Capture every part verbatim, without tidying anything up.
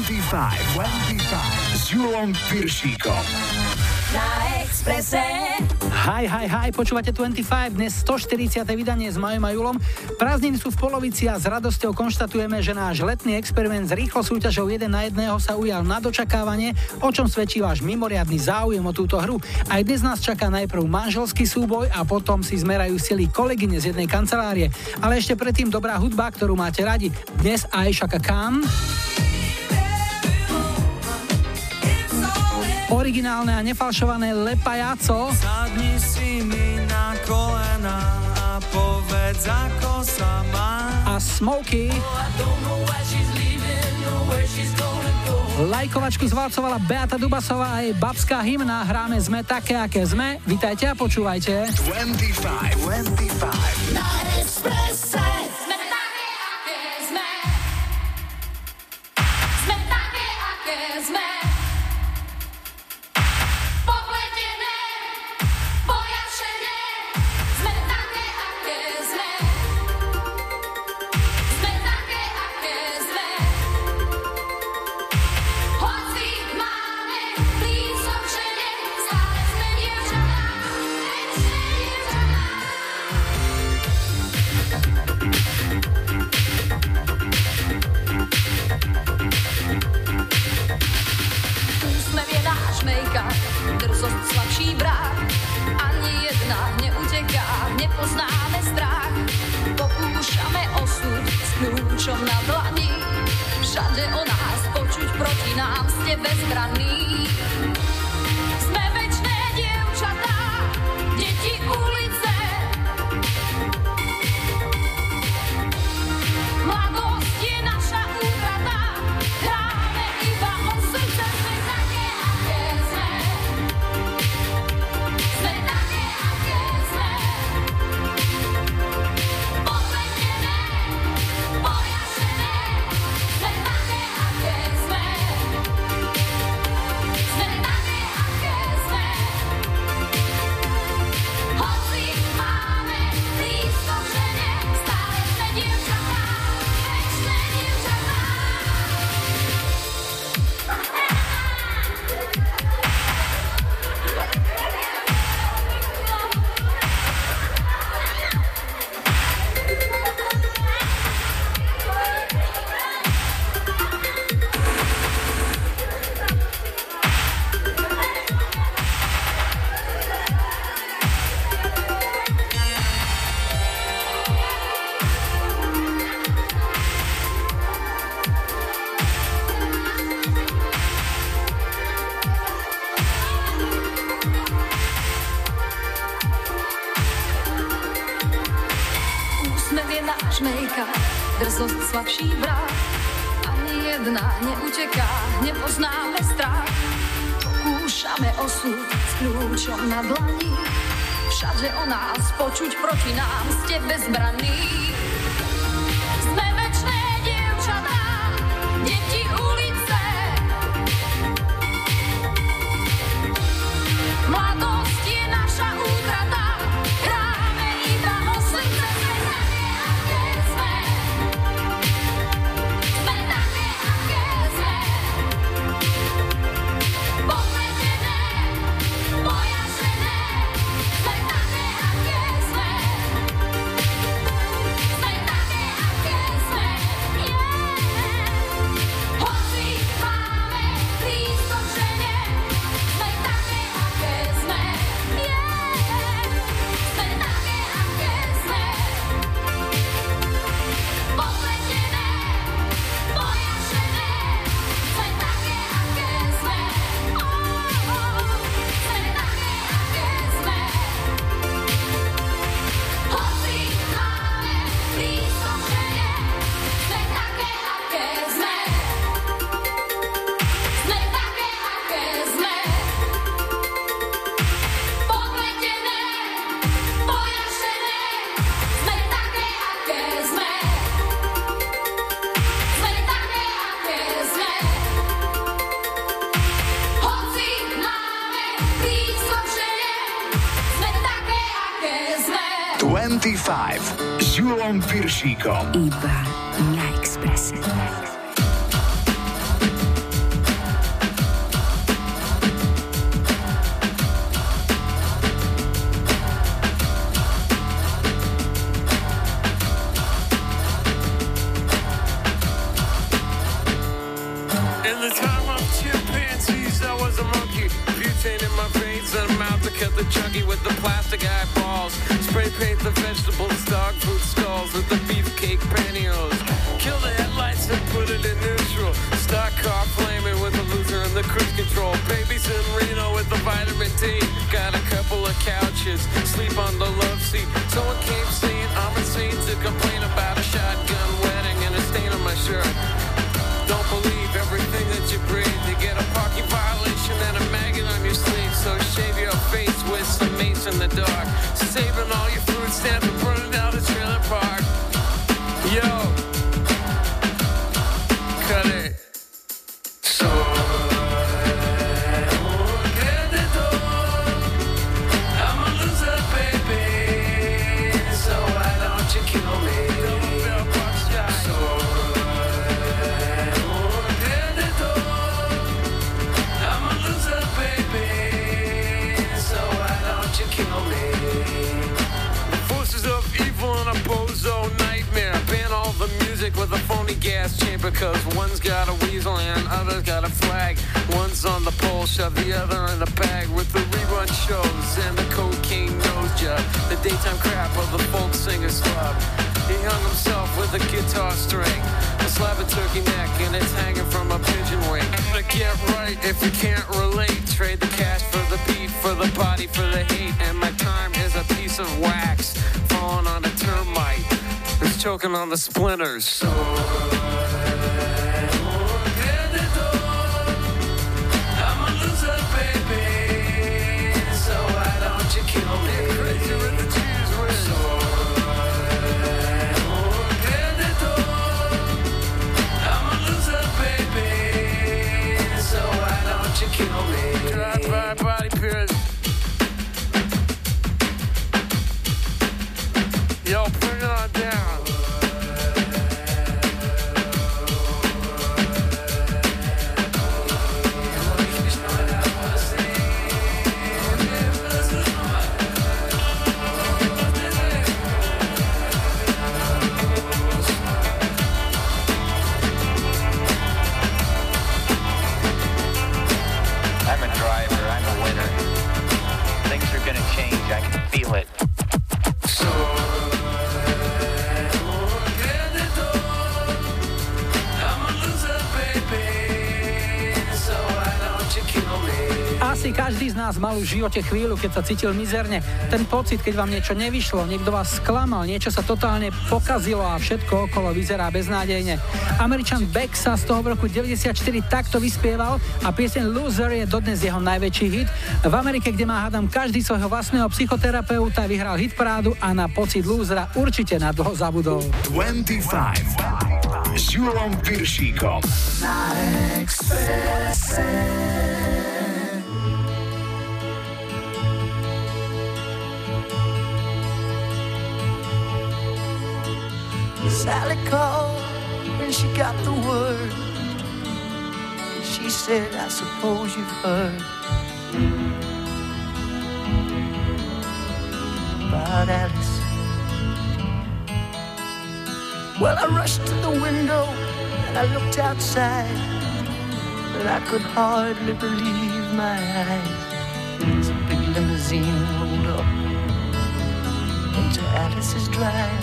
dvadsaťpäť, dvadsaťpäť s Julom Piršíkom. Na Expresse. Hi, hi, hi, počúvate dvadsaťpäť, dnes stoštyridsiate vydanie s Majom a Julom. Prázdniny sú v polovici a s radosťou konštatujeme, že náš letný experiment s rýchlo súťažou jeden na jedného sa ujal na dočakávanie, o čom svedčí váš mimoriadny záujem o túto hru. Aj dnes nás čaká najprv manželský súboj a potom si zmerajú sily kolegyne z jednej kancelárie. Ale ešte predtým dobrá hudba, ktorú máte radi. Dnes Aisha Khan, originálne a nefalšované Le Payaso. Sadni si mi na kolena a povedz, ako sa má. A Smokey. Lajkovačku zvalcovala Beata Dubasová a jej babská hymna. Hráme Sme také, aké sme. Vítajte a počúvajte. dvadsaťpäť, dvadsaťpäť Na Expresse. Sme také, aké sme. Sme také, aké sme. Drzost slabší brák, ani jedna neuteká, nepoznáme strach. Pokúšame osud s kľúčom na dlani, všade o nás počuť, proti nám ste bezbranní. Sme večné dievčatá, deti ulice. Mladosť je naša útrata, hráme iba o srdce. Sme také, aké sme. Sme také, aké sme. Podletené, pojašené. Sme také, aké sme. Sme také, aké sme. Hoci máme blízko k žene, stále sme dievčatá, večné dievčatá. Úsmev je náš make-up, drzost slabší brák, ani jedna neuteká, nepoznáme strach. Pokúšame osud s kľúčom na dlani, všade o nás počuť, proti nám ste bezbranní. Sme večné dievčatá, deti ulice. Mladosť je naša útrata, hráme iba o srdce. Sme také, aké sme. Sme také, aké sme. Podletené, pojašené. Sme také, aké sme. Sme také, aké sme. Yeah. Hoci máme blízko k žene, sme také, aké sme. Yeah. Sme také, aké sme. Podletené, pojašené. Sme také, aké sme. Oh, oh. Sme také, aké sme. Hoci máme blízko k žene, sme také, aké sme. Sme také, aké sme. Podletené, pojašené. Sme také, aké sme. Sme také, aké sme. Hoci máme blízko k žene, sme také, aké sme. dvadsaťpäť s Julom Piršíkom. Iba na Expresse. kids in a mouth to cut the chunky with the plastic eyeballs. Spray paint the vegetables, dog food skulls with the beefcake pantyhose. Kill the headlights and put it in neutral. Stock car flaming with the loser and the cruise control. Babies in Reno with the vitamin D. Got a couple of couches, sleep on the love seat. Someone came saying I'm insane to complain about a shotgun wedding and a stain on my shirt. Don't believe everything that you breathe. You get a parking violation and a maggot on your sleeve. So shave your face with some mace in the dark. Saving all your food stamps and burning down the trailer park. Yo, cut it. So I'm a loser, baby. So why don't you kill me? So kill me. The forces of evil in a bozo nightmare. Ban all the music with a phony gas chamber. Cause one's got a weasel and other's got a flag. One's on the pole, shove the other in the bag. With the rerun shows and the cocaine nose job. The daytime crap of the folk singer's club. He hung himself with a guitar string, a slab of turkey neck, and it's hanging from a pigeon wing. To get right if you can't relate. Trade the cash for the beat, for the body, for the hate. And my time is a piece of wax falling on a termite who's choking on the splinters. So I'm a loser, baby. So why don't you kill me? Crazy with the cheese whiz. So I'm a loser, baby. So why don't you kill me? Drive-by body pierce. Yo, bring it on down. I'm a driver, I'm a winner. Things are gonna change, I can feel it. So Asi každý z nás mal už v živote chvíľu, keď sa cítil mizerne. Ten pocit, keď vám niečo nevyšlo, niekto vás sklamal, niečo sa totálne pokazilo a všetko okolo vyzerá beznádejne. Američan Beck sa z toho v roku deväťdesiatštyri takto vyspieval a pieseň Loser je dodnes jeho najväčší hit. V Amerike, kde má hádam každý svojho vlastného psychoterapeuta, vyhral hitparádu a na pocit lúzera určite na dlho zabudol. dvadsaťpäť s Júlom Piršíkom na Expresse. Sally called when she got the word. She said, I suppose you've heard about Alice. Well, I rushed to the window and I looked outside, but I could hardly believe my eyes. As a big limousine rolled up into Alice's drive.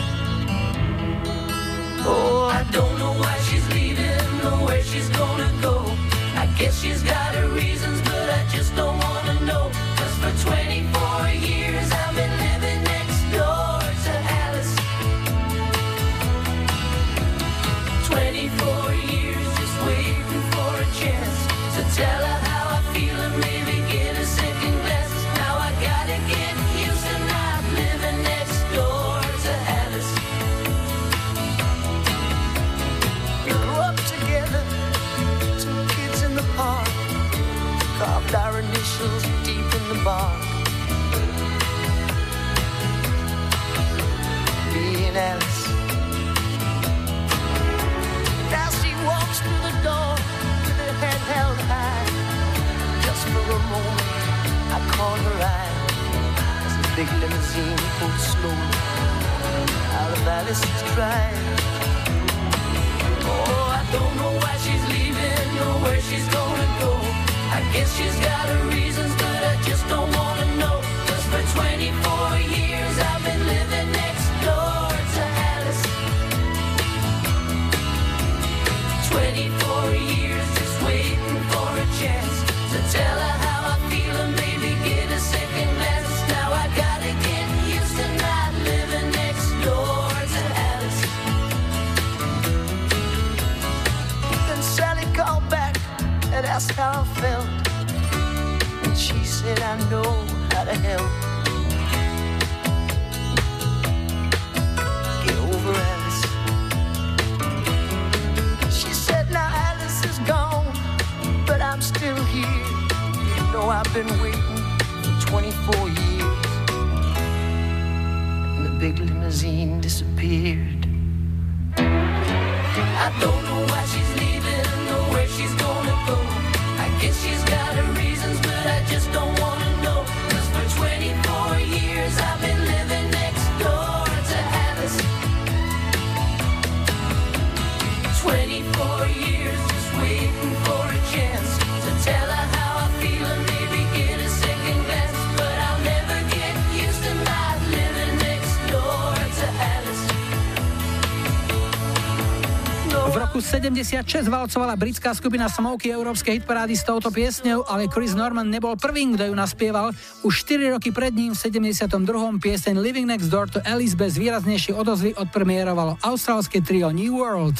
Oh, I don't know why she's leaving or where she's gonna go. I guess she's got her reasons, but I just don't wanna know. Cause for twenty-four years I've been living next door to Alice. twenty-four years just waiting for a chance to tell her how I feel and maybe get a second glance. Now I gotta get used to not living next door to Alice. Together, two kids in the park, carved our initials deep in the bark. Me and Alice. Now she walks through the door with her head held high. Just for a moment, I caught her eye as the big limousine pulled slowly out of Alice's drive. Oh, I don't know why she's leaving or where she's gonna go. I guess she's got her reasons, but I just don't wanna know. 'Cause for twenty-four years I've been living next door to Alice. twenty-four years just waiting for a chance to tell her how I feel and maybe get a second glance. Now I gotta get used to not living next door to Alice. Then Sally called back and asked how I felt, and she said I know how to help. Get over Alice. She said now Alice is gone, but I'm still here. You know I've been waiting for twenty-four years. And the big limousine disappeared. I don't know why she's leaving or where she's gonna go. I guess she's got her reasons, but I just don't wanna know. 'Cause for twenty-four years I've been living next door to Alice. twenty-four years just waiting for a chance to tell her how I feel and maybe get a second glance. But I'll never get used to not living next door to Alice. V roku sedemdesiatšesť valcovala britská skupina Smokey európske hitparády s touto piesňou, ale Chris Norman nebol prvým, kto ju naspieval. Už štyri roky pred ním v sedemdesiatom druhom pieseň Living Next Door to Alice bez výraznejšej odozvy odpremierovalo austrálske trio New World.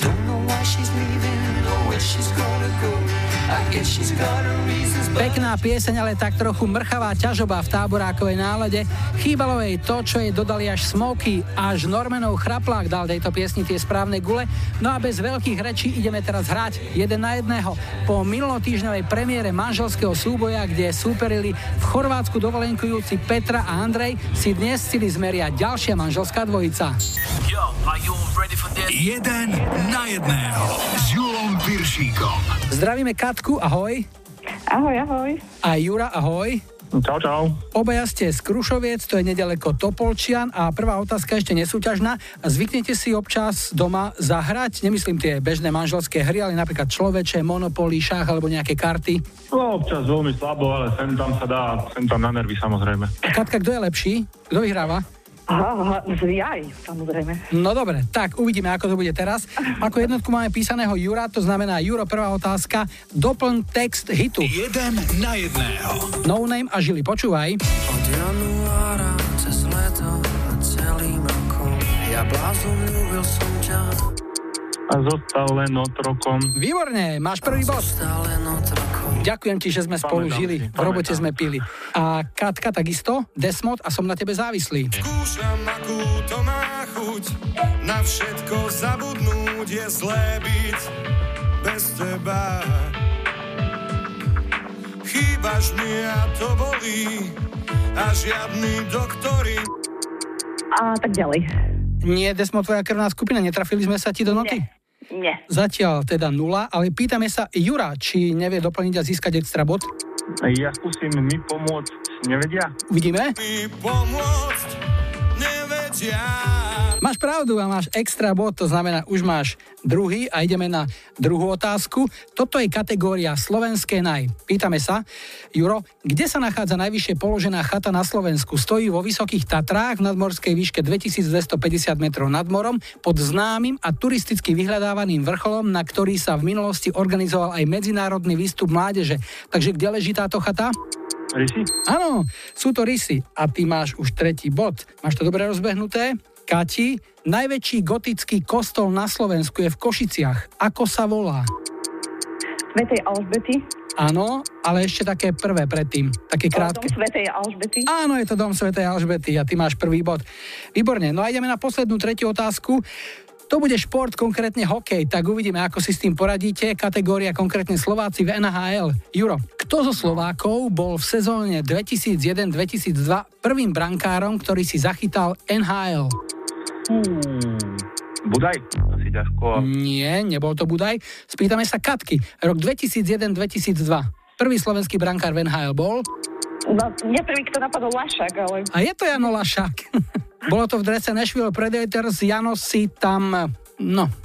Pekná pieseň, ale tak trochu mrchavá ťažoba v táborákovej nálade. Chýbalo jej to, čo jej dodali až Smokey. Až Normanov chraplák dal tejto piesni tie správne gule. No a bez veľkých rečí ideme teraz hrať jeden na jedného. Po minulotýždňovej premiére manželského súboja, kde súperili v Chorvátsku dovolenkujúci Petra a Andrej, si dnes chceli zmeriať ďalšia manželská dvojica. Yo, are you ready for this? Jeden na jedného s Julom Piršíkom. Zdravíme Katku, ahoj. Ahoj, ahoj. A Jura, ahoj. Čau, čau. Obaja ste z Krušoviec, to je nedaleko Topolčian a prvá otázka ešte nesúťažná. Zvyknete si občas doma zahrať? Nemyslím tie bežné manželské hry, ale napríklad človeče, Monopoly, šach alebo nejaké karty. No, občas veľmi slabo, ale sem tam sa dá, sem tam na nervy samozrejme. Katka, kto je lepší? Kto vyhráva? Aha, zjaj, samozrejme. No dobre, tak uvidíme, ako to bude teraz. Ako jednotku máme písaného Jura, to znamená Juro, prvá otázka. Doplň text hitu. Jeden na jedného. No Name a Žili, počúvaj. Od januára cez leto a celým rokom ja blázon ľúbil som ťa. A zostal len otrokom. Výborne, máš prvý bod. Zostal len otrokom. Ďakujem ti, že sme spolu Pamätám žili. si, V robote pamätám. sme pili. A Katka takisto, Desmod a Som na tebe závislý. Skúšam, akú to má chuť, na všetko zabudnúť je zlé byť bez teba. Chýbaš mi a to bolí, a žiadny doktori. A tak ďalej. Nie, Desmod, tvoja krvná skupina, netrafili sme sa ti do noty? Nie. Zatiaľ teda nula, ale pýtame sa Jura, či nevie doplniť a získať extra bod. Ja skúsim mi pomôcť, nevedia? Uvidíme. Mi pomôcť nevedia. Máš pravdu a máš extra bod, to znamená, už máš druhý a ideme na druhú otázku. Toto je kategória slovenské naj. Pýtame sa, Juro, kde sa nachádza najvyššie položená chata na Slovensku? Stojí vo Vysokých Tatrách v nadmorskej výške dvetisícdvestopäťdesiat metrov nad morom pod známym a turisticky vyhľadávaným vrcholom, na ktorý sa v minulosti organizoval aj medzinárodný výstup mládeže. Takže kde leží táto chata? Rysy? Áno, sú to rysy a ty máš už tretí bod. Máš to dobre rozbehnuté? Kati, najväčší gotický kostol na Slovensku je v Košiciach. Ako sa volá? Svätej Alžbety. Áno, ale ešte také prvé predtým, také krátke. Dom Svätej Alžbety. Áno, je to dom Svätej Alžbety a ty máš prvý bod. Výborne, no a ideme na poslednú tretiu otázku. To bude šport, konkrétne hokej, tak uvidíme, ako si s tým poradíte. Kategória konkrétne Slováci v en há el. Juro, kto zo Slovákov bol v sezóne dvetisícjeden dvetisícdva prvým brankárom, ktorý si zachytal en há el? Hmm, Budaj? Asi ťažko. Nie, nebol to Budaj. Spýtame sa Katky. Rok dvetisícjeden dvetisícdva. Prvý slovenský brankár v en há el bol? No, mňa prvý, kto napadol Lašák, ale... A je to Jano Lašák. Bolo to v drese Nashville Predators. Jano si tam, no,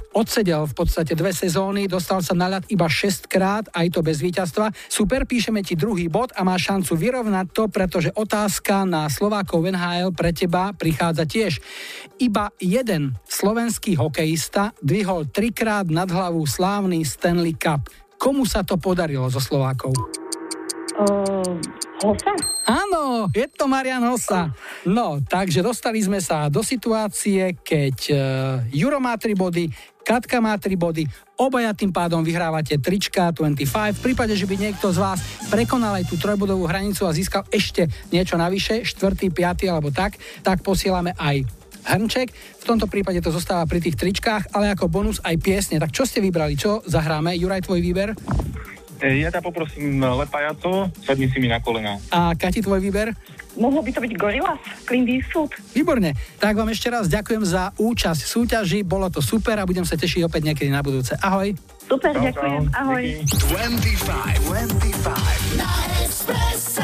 odsedel v podstate dve sezóny, dostal sa na ľad iba šesťkrát, aj to bez víťazstva. Super, píšeme ti druhý bod a máš šancu vyrovnať to, pretože otázka na Slovákov v en há el pre teba prichádza tiež. Iba jeden slovenský hokejista dvihol trikrát nad hlavu slávny Stanley Cup. Komu sa to podarilo zo Slovákov? Uh, Hossa? Áno, je to Marian Hossa. No, takže dostali sme sa do situácie, keď uh, Juro má tri body, Katka má tri body, obaja tým pádom vyhrávate trička dvadsaťpäť. V prípade, že by niekto z vás prekonal aj tú trojbodovú hranicu a získal ešte niečo navyše, štvrtý, piaty alebo tak, tak posielame aj hrnček. V tomto prípade to zostáva pri tých tričkách, ale ako bonus aj piesne. Tak čo ste vybrali? Čo zahráme? Juraj, tvoj výber? Ja ťa poprosím Lepajaco, sadni si mi na kolena. A Kati, tvoj výber? Mohlo by to byť Gorillaz, Clint Eastwood. Výborne. Tak vám ešte raz ďakujem za účasť v súťaži, bolo to super a budem sa tešiť opäť niekedy na budúce. Ahoj. Super, Čau, ďakujem. čau. Ahoj. dvadsaťpäť, dvadsaťpäť Na Expresse.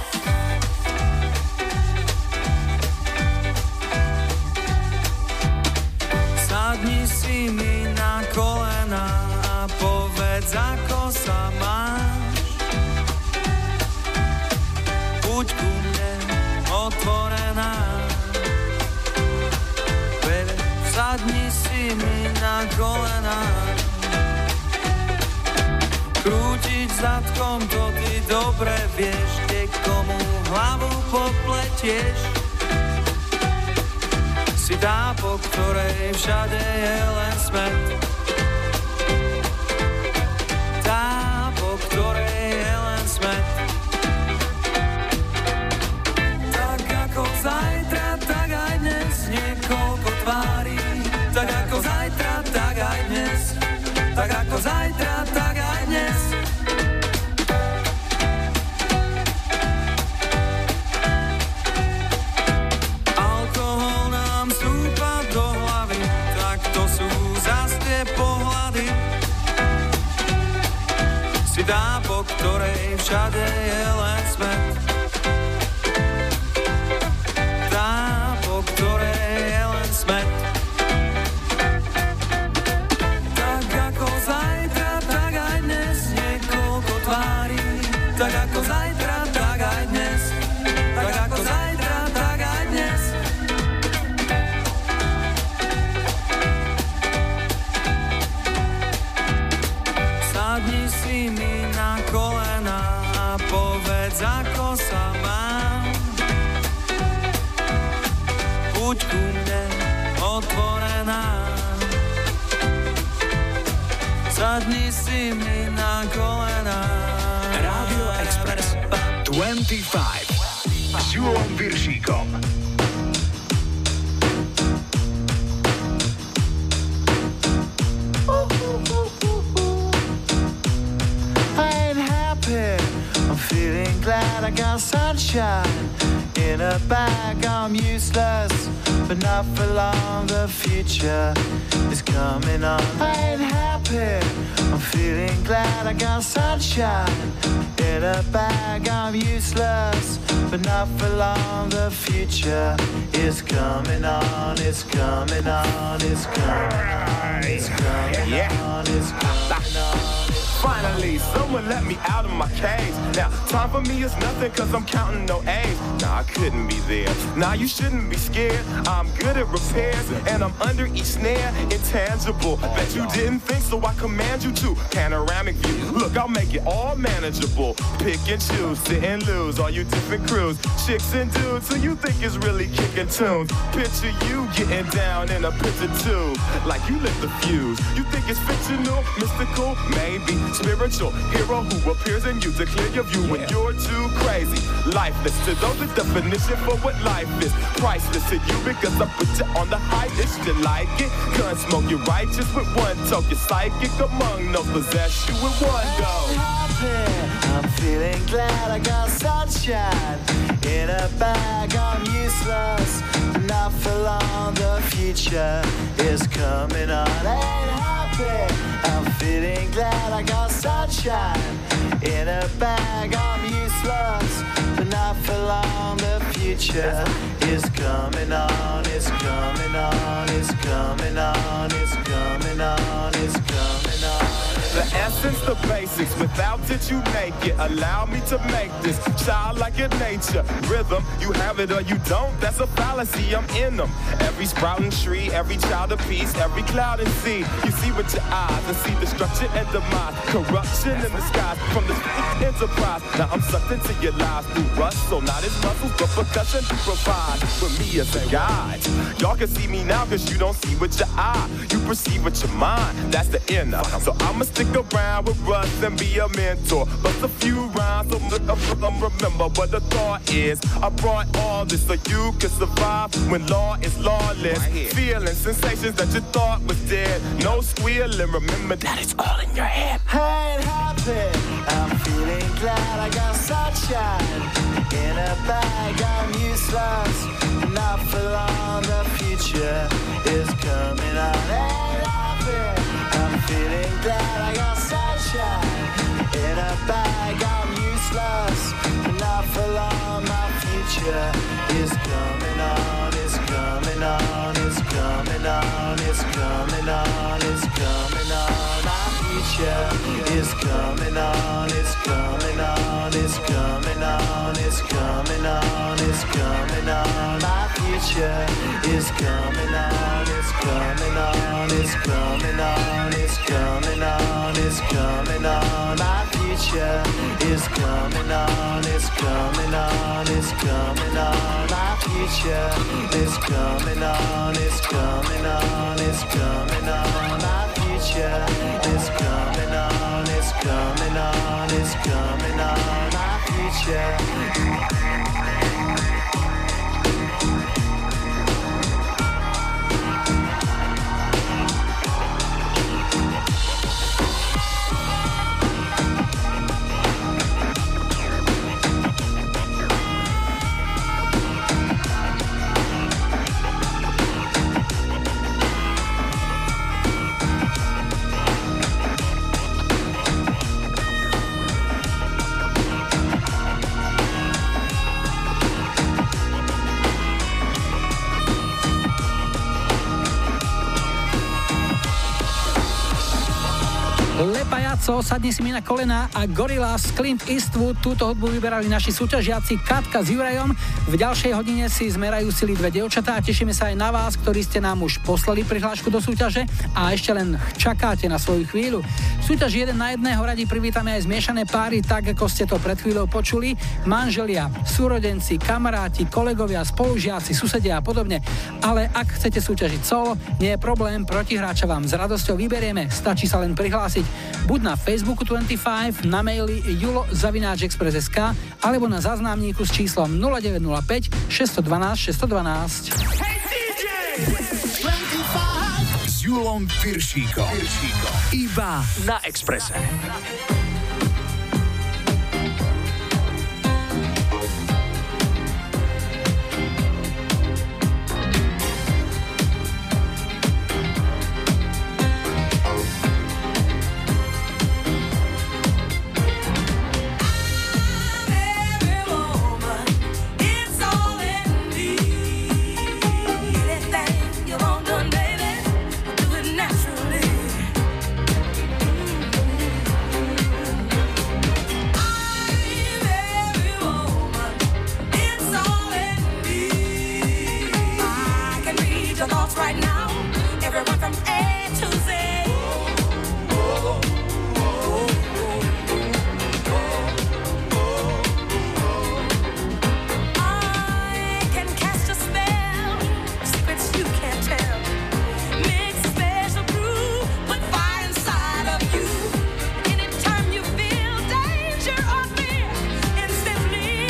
Sadni si mi na kolena a povedz, ako sa máš. Buď ku mne otvorená. Baby, sadni si mi na kolena. Krútiť zadkom, to ty dobre vieš, kde komu hlavu popletieš. Si tá, po ktorej všade je len smet. Tá, po ktorej je len smet. Tak ako zajtra, tak aj dnes, niekoľko tvári. Tak ako zajtra, tak aj dnes. Tak ako zajtra, tak aj dnes. Tá, po ktorej všade je len smet. Tá, po ktorej je len smet. Tak ako zajtra, tak aj dnes, niekoľko tvári. Tak ako zajtra, tak aj dnes. Tak ako zajtra, tak aj dnes. Sadni si mi na kolena a povedz, ako sa mám. Buď ku mne otvorená. Sadni si mi na kolena. Rádio Express dvadsaťpäť s Julom Piršíkom. I'm feeling glad I got sunshine in a bag. I'm useless, but not for long. The future is coming on. I ain't happy. I'm feeling glad I got sunshine in a bag. I'm useless, but not for long. The future is coming on. It's coming on. It's coming on. It's coming on. It's coming on. Finally, someone let me out of my cage. Now, time for me is nothing cause I'm counting no A's. Nah, I couldn't be there. Nah, you shouldn't be scared. I'm good at repairs and I'm under each snare. Intangible. Bet you didn't think, so I command you to. Panoramic view. Look, I'll make it all manageable. Pick and choose, sit and lose. All you different crews. Chicks and dudes who you think is really kicking tunes. Picture you getting down in a picture tube. Like you lit the fuse. You think it's fictional, mystical, maybe. Spiritual hero who appears in you to clear your view when you're too crazy. Lifeless to those, the definition for what life is. Priceless to you because I put you on the highest. You like it? Gun smoke, you're righteous with one toke. You're psychic among those possess you with one go. I'm feeling glad I got sunshine in a bag. I'm useless, not for long. The future is coming on. Ain't happy. I'm feeling glad I got sunshine in a bag. I'm useless, but not for long. The future is coming on. It's coming on. It's coming on. It's coming on. essence, the basics. Without it, you make it. Allow me to make this child like your nature. Rhythm, you have it or you don't. That's a fallacy. I'm in them. Every sprouting tree, every child of peace, every cloud and sea. You see with your eyes and see destruction and demise. Corruption in the skies from this enterprise. Now I'm sucked into your lives through rust. So not as muscles, but percussion to provide for me as a guide. Y'all can see me now cause you don't see with your eye. You perceive with your mind. That's the inner. So I'ma stick around with Russ and be a mentor. Bust a few rhymes so remember what the thought is. I brought all this so you can survive when law is lawless. Feeling sensations that you thought was dead. No squealing, remember that it's all in your head. I ain't happy, I'm feeling glad I got sunshine in a bag. I'm useless, not for long. The future is coming on. Ain't happy, I'm feeling glad I got sunshine in a bag. I'm useless, not for long. My future is coming on. It's coming on. It's coming on. It's coming on. It's coming on. My future is coming on. It's coming on. It's coming on. It's coming on. It's coming on. My future is coming on. It's coming on. It's coming on. It's coming on. It's coming on. My future is coming on. It's coming on. It's coming on. My future is coming on. It's coming on. It's coming on. My future is coming on. It's coming on. It's coming on. My future. Pajaco, sadni si mi na kolena a Gorillaz, Clint Eastwood. Túto hudbu vyberali naši súťažiaci Katka s Jurajom. V ďalšej hodine si zmerajú sily dve dievčatá a tešíme sa aj na vás, ktorí ste nám už poslali prihlášku do súťaže a ešte len čakáte na svoju chvíľu. V súťaži jeden na jedného radi privítame aj zmiešané páry, tak ako ste to pred chvíľou počuli. Manželia, súrodenci, kamaráti, kolegovia, spolužiaci, susedia a podobne. Ale ak chcete súťažiť solo, nie je problém, protihráča vám s radosťou vyberieme, stačí sa len prihlásiť buď na Facebooku dvadsaťpäť, na maili julo zavináč express bodka es ká alebo na záznamníku s číslom nula deväť nula päť šesť jedna dva šesť jedna dva. Hey dý džej! dvadsaťpäť s Julom Piršíkom. Iba na Expresse.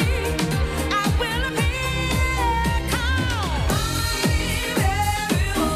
Baby,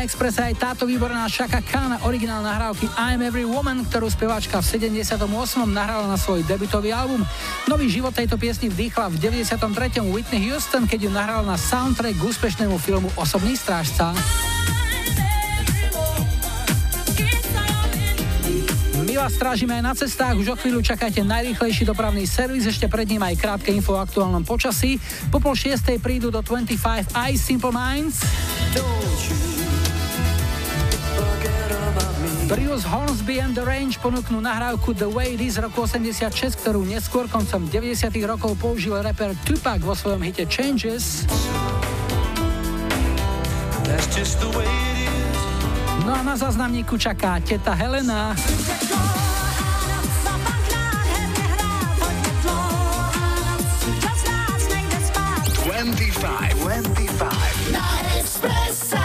na Expresse aj táto výborná Chaka Khan, originál nahrávky I'm Every Woman, ktorú speváčka v sedemdesiatom ôsmom nahrala na svoj debutový album. Nový život tejto piesni vdýchla v deväťdesiatom treťom Whitney Houston, keď ju nahrala na soundtrack k úspešnému filmu Osobný strážca. My vás strážime aj na cestách, už o chvíľu čakajte najrýchlejší dopravný servis, ešte pred ním aj krátke info o aktuálnom počasí. Po pol šiestej prídu do dvadsaťpäť aj Simple Minds. Bruce Hornsby and the Range ponúknú nahrávku The Way It Is roku osemdesiatšesť, ktorú neskôr koncom deväťdesiatych rokov použil rapper Tupac vo svojom hite Changes. No a na záznamníku čaká teta Helena. dvadsaťpäť, dvadsaťpäť na Expresse.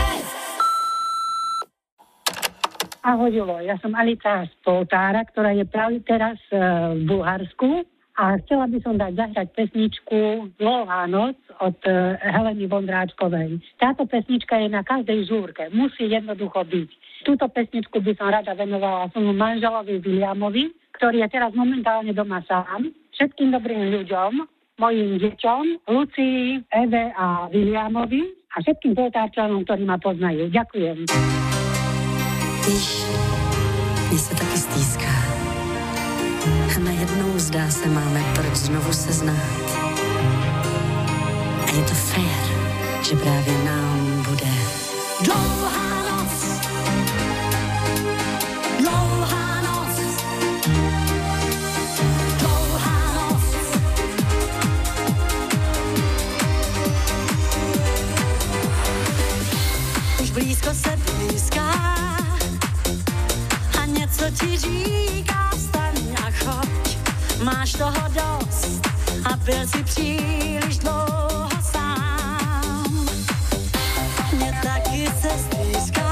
Ahoj, Julo, ja som Alica z Poltára, ktorá je práve teraz v Bulharsku a chcela by som dať zahrať pesničku Dlhá noc od Heleny Vondráčkovej. Táto pesnička je na každej žúrke, musí jednoducho byť. Túto pesničku by som rada venovala svojmu manželovi Williamovi, ktorý je teraz momentálne doma sám, všetkým dobrým ľuďom, mojim deťom, Lucii, Eve a Williamovi a všetkým Poltárčanom, ktorí ma poznajú. Ďakujem. Víš, mně se taky stýská. A najednou zdá se, máme proč znovu se znát. A je to fér, že právě nám bude dlouhá noc. Dlouhá noc. Dlouhá noc. Už blízko se blízká a něco ti říká, staň a choď. Máš toho dost a byl si příliš dlouho sám. Mně taky se stýská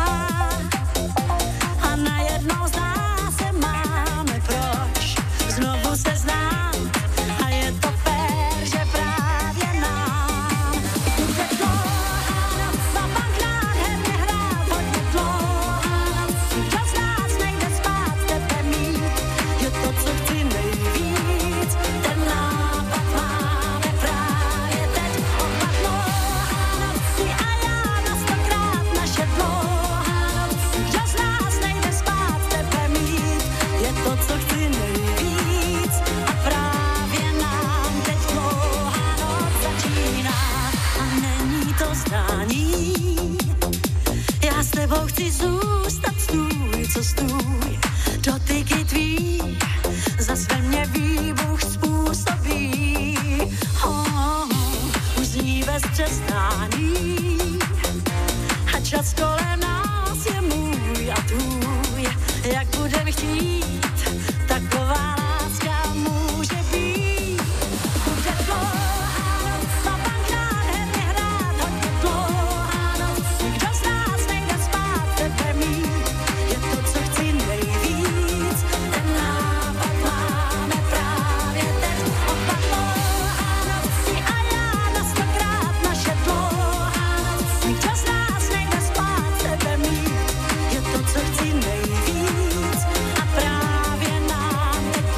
a najednou zdá se, máme proč znovu se znát. A je to fér, že právě nám bude dlouhá noc a pak nádherně hrát hodně dlouhá noc. Kdo z nás nejde spát, tebe mít, je to, co chci nejvíc. Ten nápad máme právě teď. Oba dlouhá noc, ty a já na stokrát naše dlouhá noc. Kdo z nás nejde spát, tebe mít, je to, co chci nejvíc. A právě nám teď dlouhá noc začíná a není to zdání. Já s tebou chci zůstat, stůj, co stůj. Dotyky tvý zas ve mně výbuch způsobí. Oh, už zní bez přestání a čas kolem nás je můj a tvůj. Jak budem chtít, taková láska může být. Bude dlouhá noc a pak nádherně hrát hodně dlouhá noc. Kdo z nás nejde spát, tebe mít, je to, co chci nejvíc. Ten nápad máme právě teď. Oba dlouhá noc, ty a já na stokrát naše dlouhá noc. Kdo z nás nejde spát, tebe mít, je to, co chci nejvíc. A právě nám teď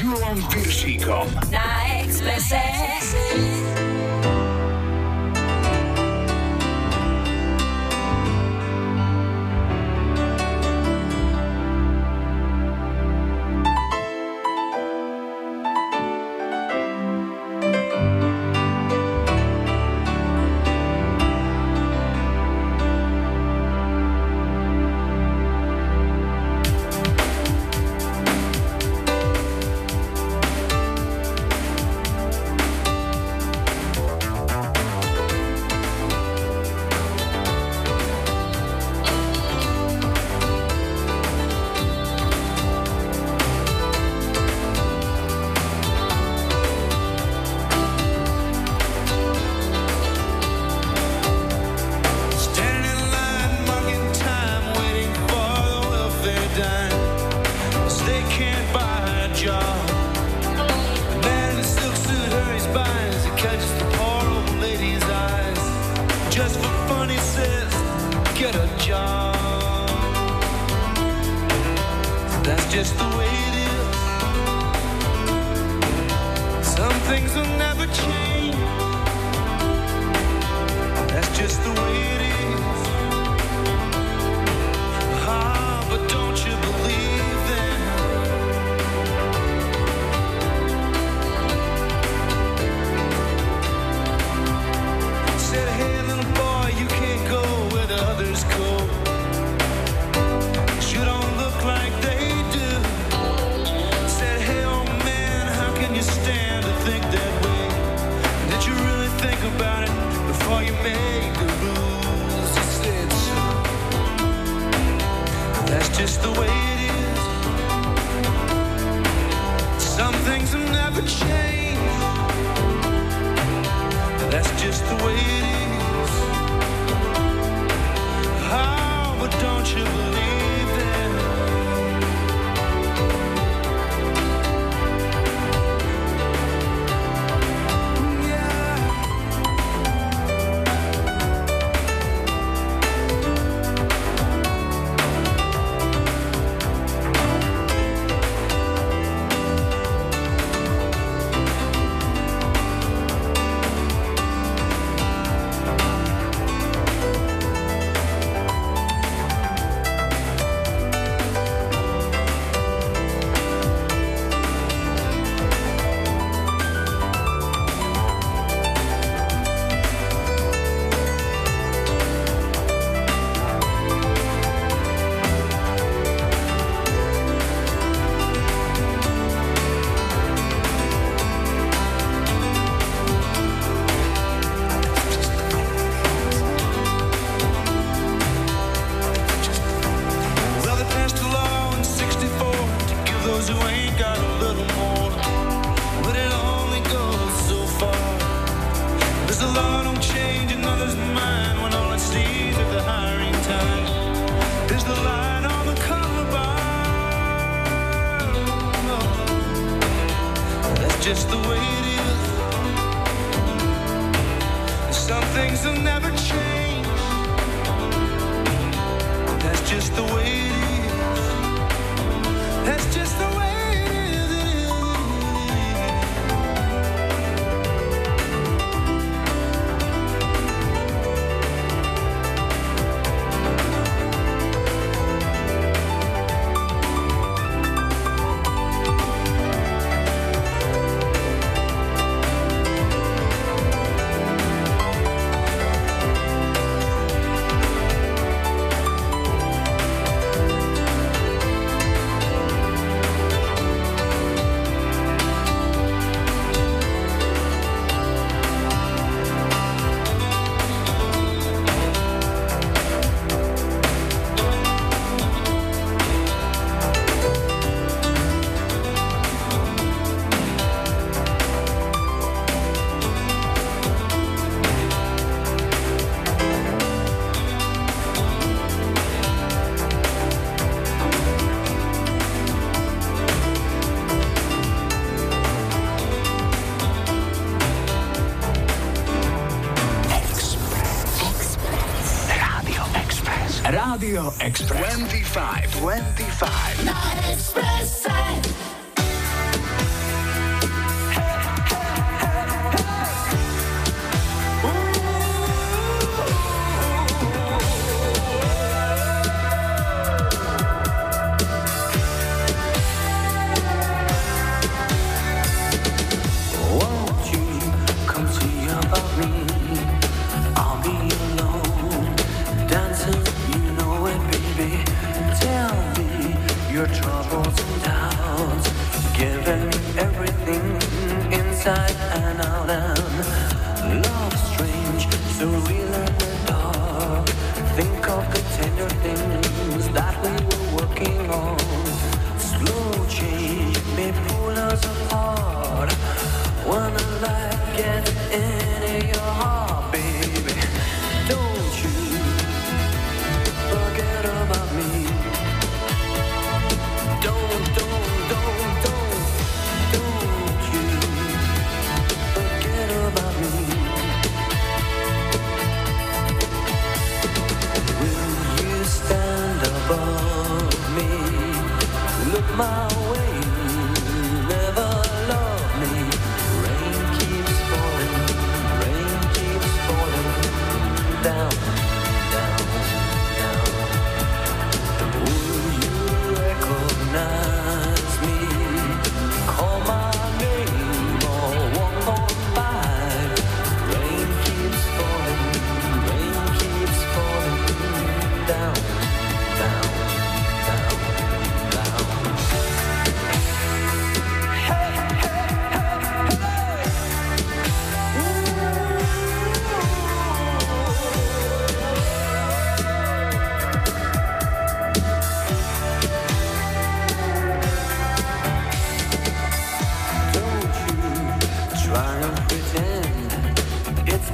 Julom Piršíkom Na Expresse. Radio Express. dvadsaťpäť. dvadsaťpäť. Na Expresse.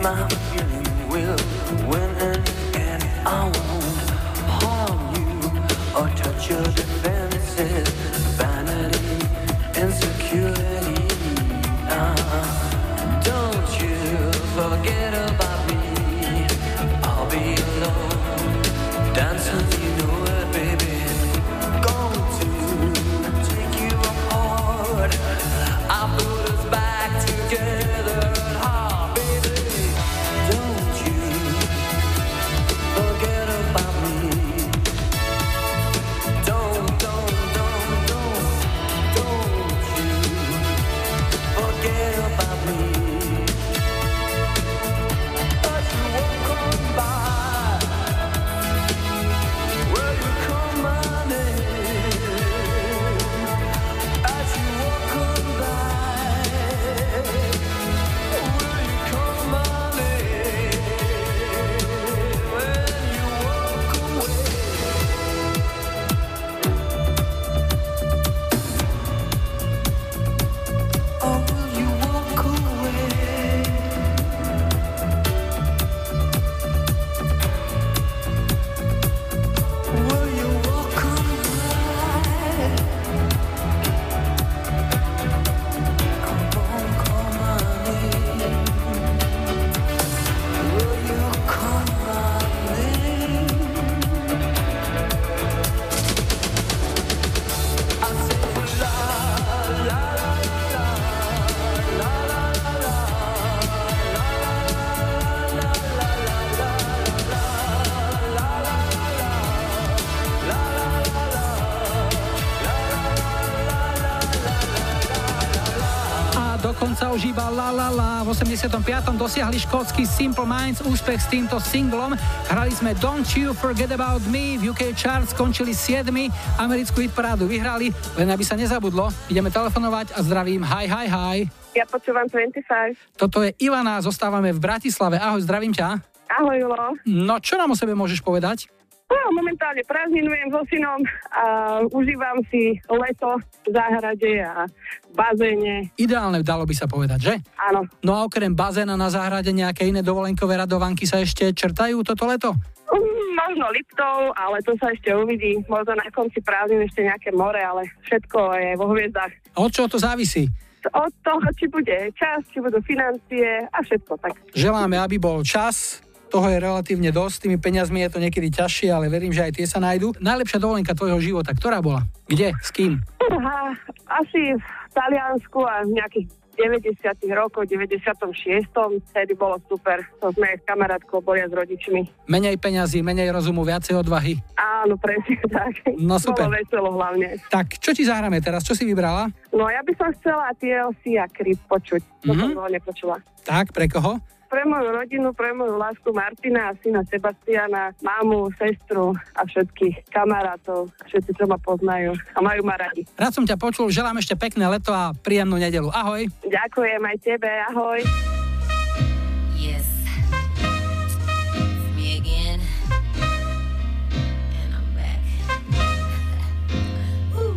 my feeling will win in the end. I won't harm you or touch your defenses. Vanity, insecurity. Uh, don't you forget about me. I'll be alone, dancing, you know it, baby. Going to take you apart. I put us back together. Ah, baby, don't you forget about me. Don't, don't, don't, don't, don't you forget about me. But you won't come by. Will you come my name? As you walk on by, will you come my name? When you walk away. Oh, will you walk away? Will you walk on by? Come on, call my name. Will you call my name? I say la la la la la la la la A dokonca už iba la la la. V osemdesiatom piatom dosiahli škótsky Simple Minds úspech s týmto singlom. Hrali sme Don't You Forget About Me, v ú ká Charts skončili siedmi, americkú hitparádu vyhrali, len aby sa nezabudlo. Ideme telefonovať a zdravím. Hi, hi, hi. Ja počúvam dvadsaťpäť. Toto je Ivana, zostávame v Bratislave. Ahoj, zdravím ťa. Ahoj, Julo. No, čo nám o sebe môžeš povedať? No, momentálne prázdninujem so synom a užívam si leto v záhrade a v bazéne. Ideálne dalo by sa povedať, že? Áno. No a okrem bazéna na záhrade nejaké iné dovolenkové radovanky sa ešte črtajú toto leto? Mm, možno Liptov, ale to sa ešte uvidí. Možno na konci prázdnin ešte nejaké more, ale všetko je vo hviezdach. A od čoho to závisí? Od toho, či bude čas, či budú financie a všetko tak. Želáme, aby bol čas. Toho je relatívne dosť, tými peniazmi je to niekedy ťažšie, ale verím, že aj tie sa nájdú. Najlepšia dovolenka tvojho života, ktorá bola? Kde? S kým? Aha, asi v Taliansku a v nejakých deväťdesiatych rokoch, deväťdesiatom šiestom Vtedy bolo super. To sme s kamarátkou boli s rodičmi. Menej peňazí, menej rozumu, viacej odvahy. Áno, presne tak. No super. Bolo veselo hlavne. Tak, čo ti zahráme teraz? Čo si vybrala? No ja by som chcela té el cé a Creep počuť. To Mhm. som dlho nepočula. Tak, pre koho? Pre moju rodinu, pre moju lásku Martina a syna Sebastiana, mámu, sestru a všetkých kamarátov, všetci, čo ma poznajú a majú ma radi. Rád som ťa počul, želám ešte pekné leto a príjemnú nedeľu. Ahoj. Ďakujem aj tebe, ahoj. Yes. It's me again. And I'm back. Ooh.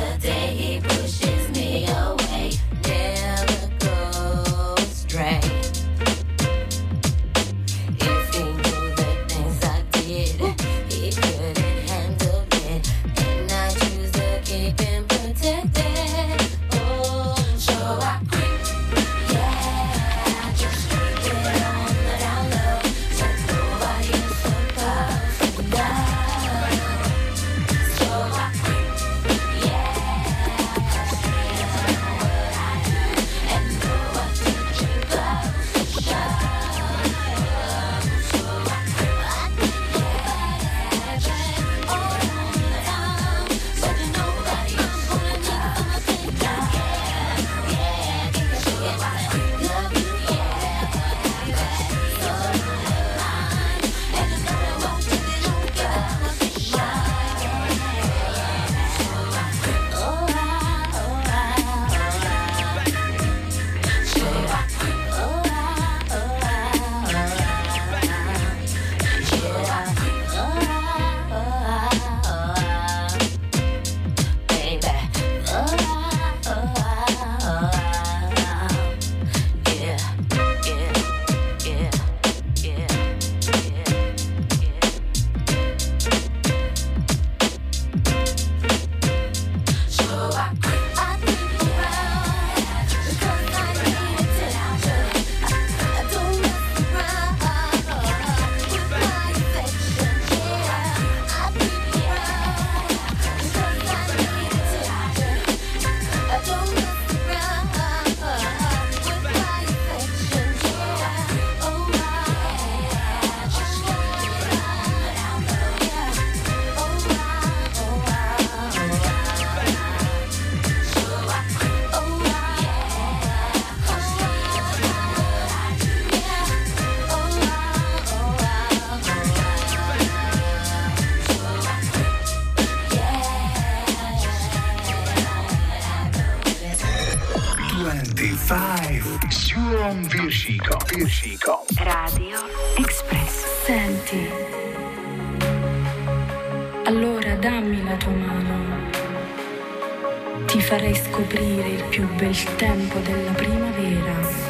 the day he pushes me away. Never go astray. If he knew the things I did, he couldn't handle it. And I choose to keep him protected. Oh, so I quit. Yeah, I just keep it on the down low. So nobody is supposed to know. So I quit. Yeah, I just keep it on what I do. And know what to keep close to show. So I quit. I think nobody has it all the time. So there's nobody I'm gonna need for my thing now. Yeah, yeah, yeah. So I quit. Love you, yeah, but I got so mine. And no matter what you do, don't give up my thing now. So I quit. Oh, I, oh, I, oh, I. So I quit. Oh, I, oh, I, oh, I. Should I quit? Oh, I, oh, I, oh, I. Baby. Oh, I, oh, I, oh, I. Yeah, yeah, yeah, yeah, yeah, yeah. So I quit. I think around because I need attention. I don't mess around with my affection. Yeah, I think around because I need attention. I don't mess around with my affection. Yeah, oh I just keep it on the down low. Yeah, oh I, oh I, oh I. So I quit. Oh I, oh I, yeah, oh I, oh I, oh dvadsaťpäť s Julom Piršíkom. Piršíkom. Radio Express. Senti, allora dammi la tua mano. Ti farei scoprire il più bel tempo della primavera.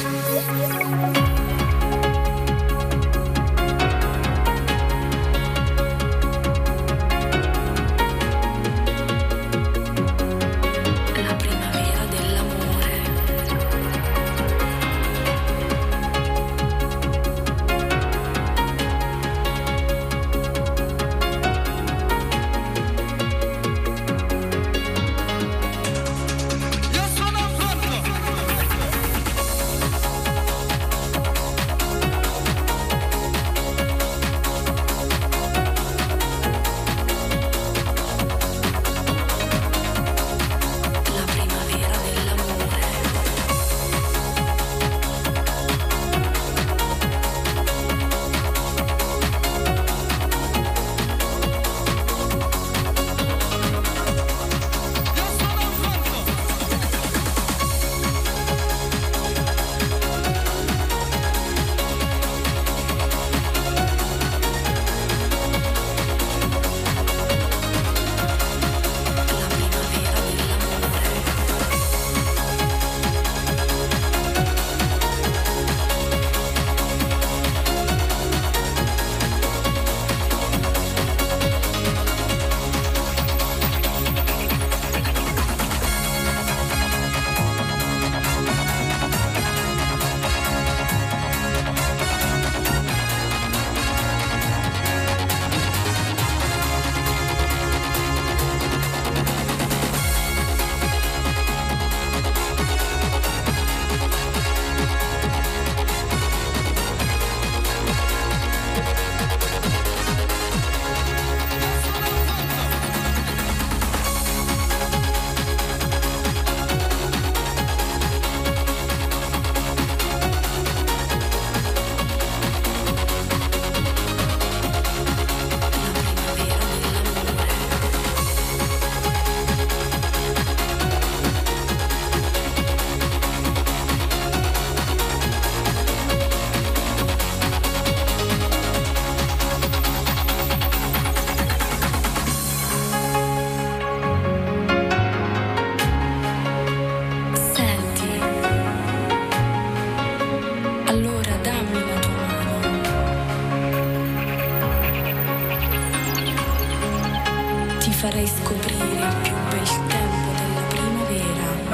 La primavera dell'amore. Io sono pronto!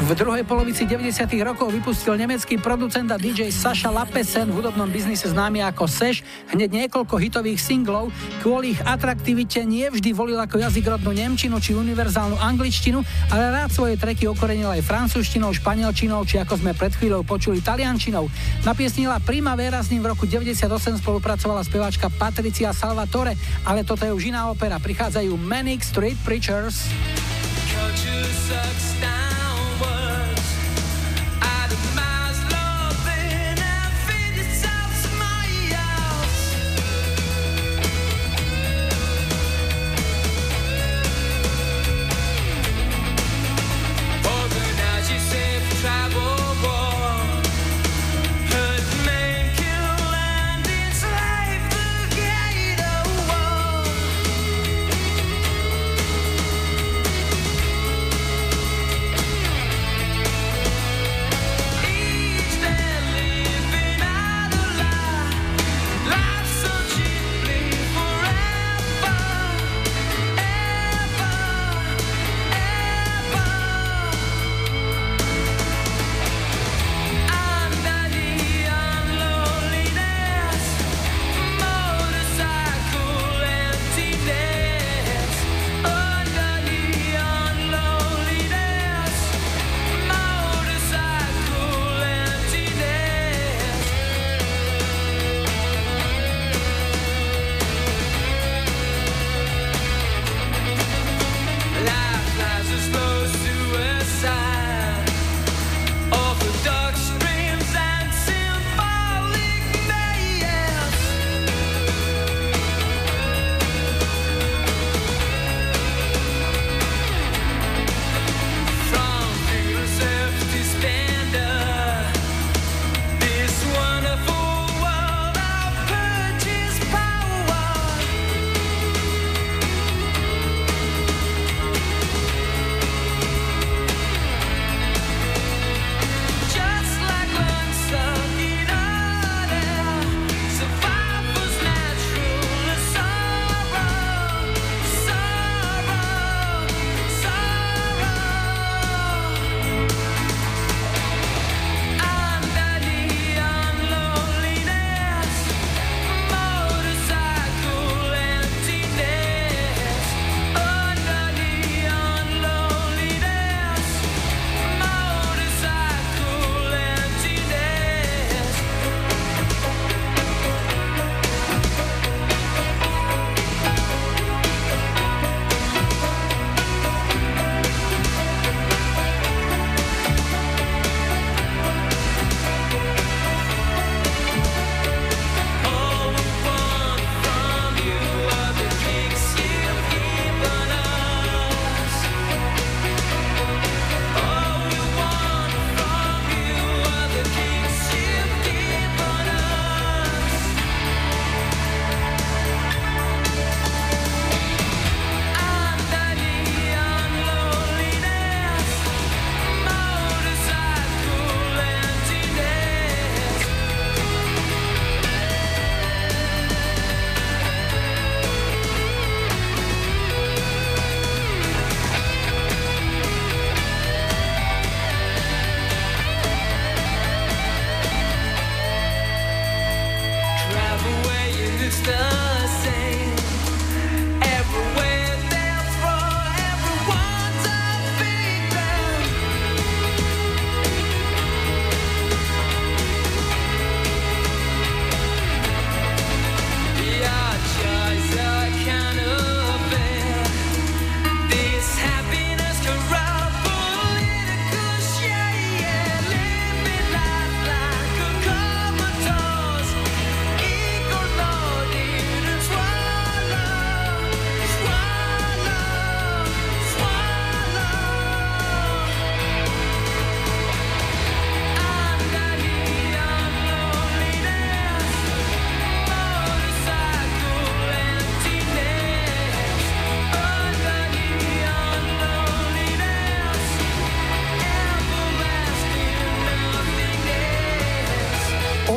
V druhej polovici deväťdesiatych rokov vypustil nemecký producent a dý džej Sascha Lappesen, v hudobnom biznise známy ako Sash, hneď niekoľko hitových singlov. Kvôli ich atraktivite nie vždy volil ako jazyk rodnú nemčinu či univerzálnu angličtinu, ale rád svoje tracky okorenil aj francúzštinou, španielčinou či ako sme pred chvíľou počuli taliančinou. Na piesni La Primavera s ním v roku deväťdesiatosem spolupracovala speváčka Patricia Salvatore, ale toto je už iná opera. Prichádzajú Manic Street Preachers. Travel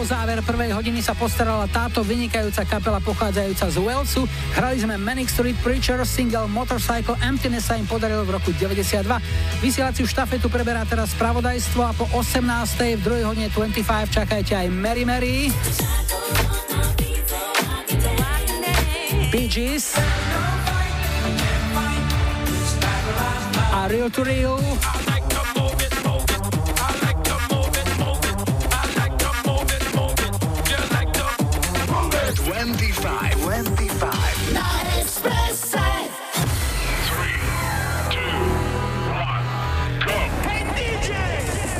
záver prvej hodiny sa postarala táto vynikajúca kapela pochádzajúca z Walesu. Hrali sme Manic Street Preacher, single Motorcycle Emptiness sa im podarilo v roku deväťdesiatdva. Vysielaciu štafetu preberá teraz spravodajstvo a po osemnástej v druhej hodine dvadsaťpäť čakajte aj Mary Mary, Bee Gees a Real to Real. dvadsaťpäť, dvadsaťpäť na Expresse. tri, dva, jeden, go. Hey dý džej!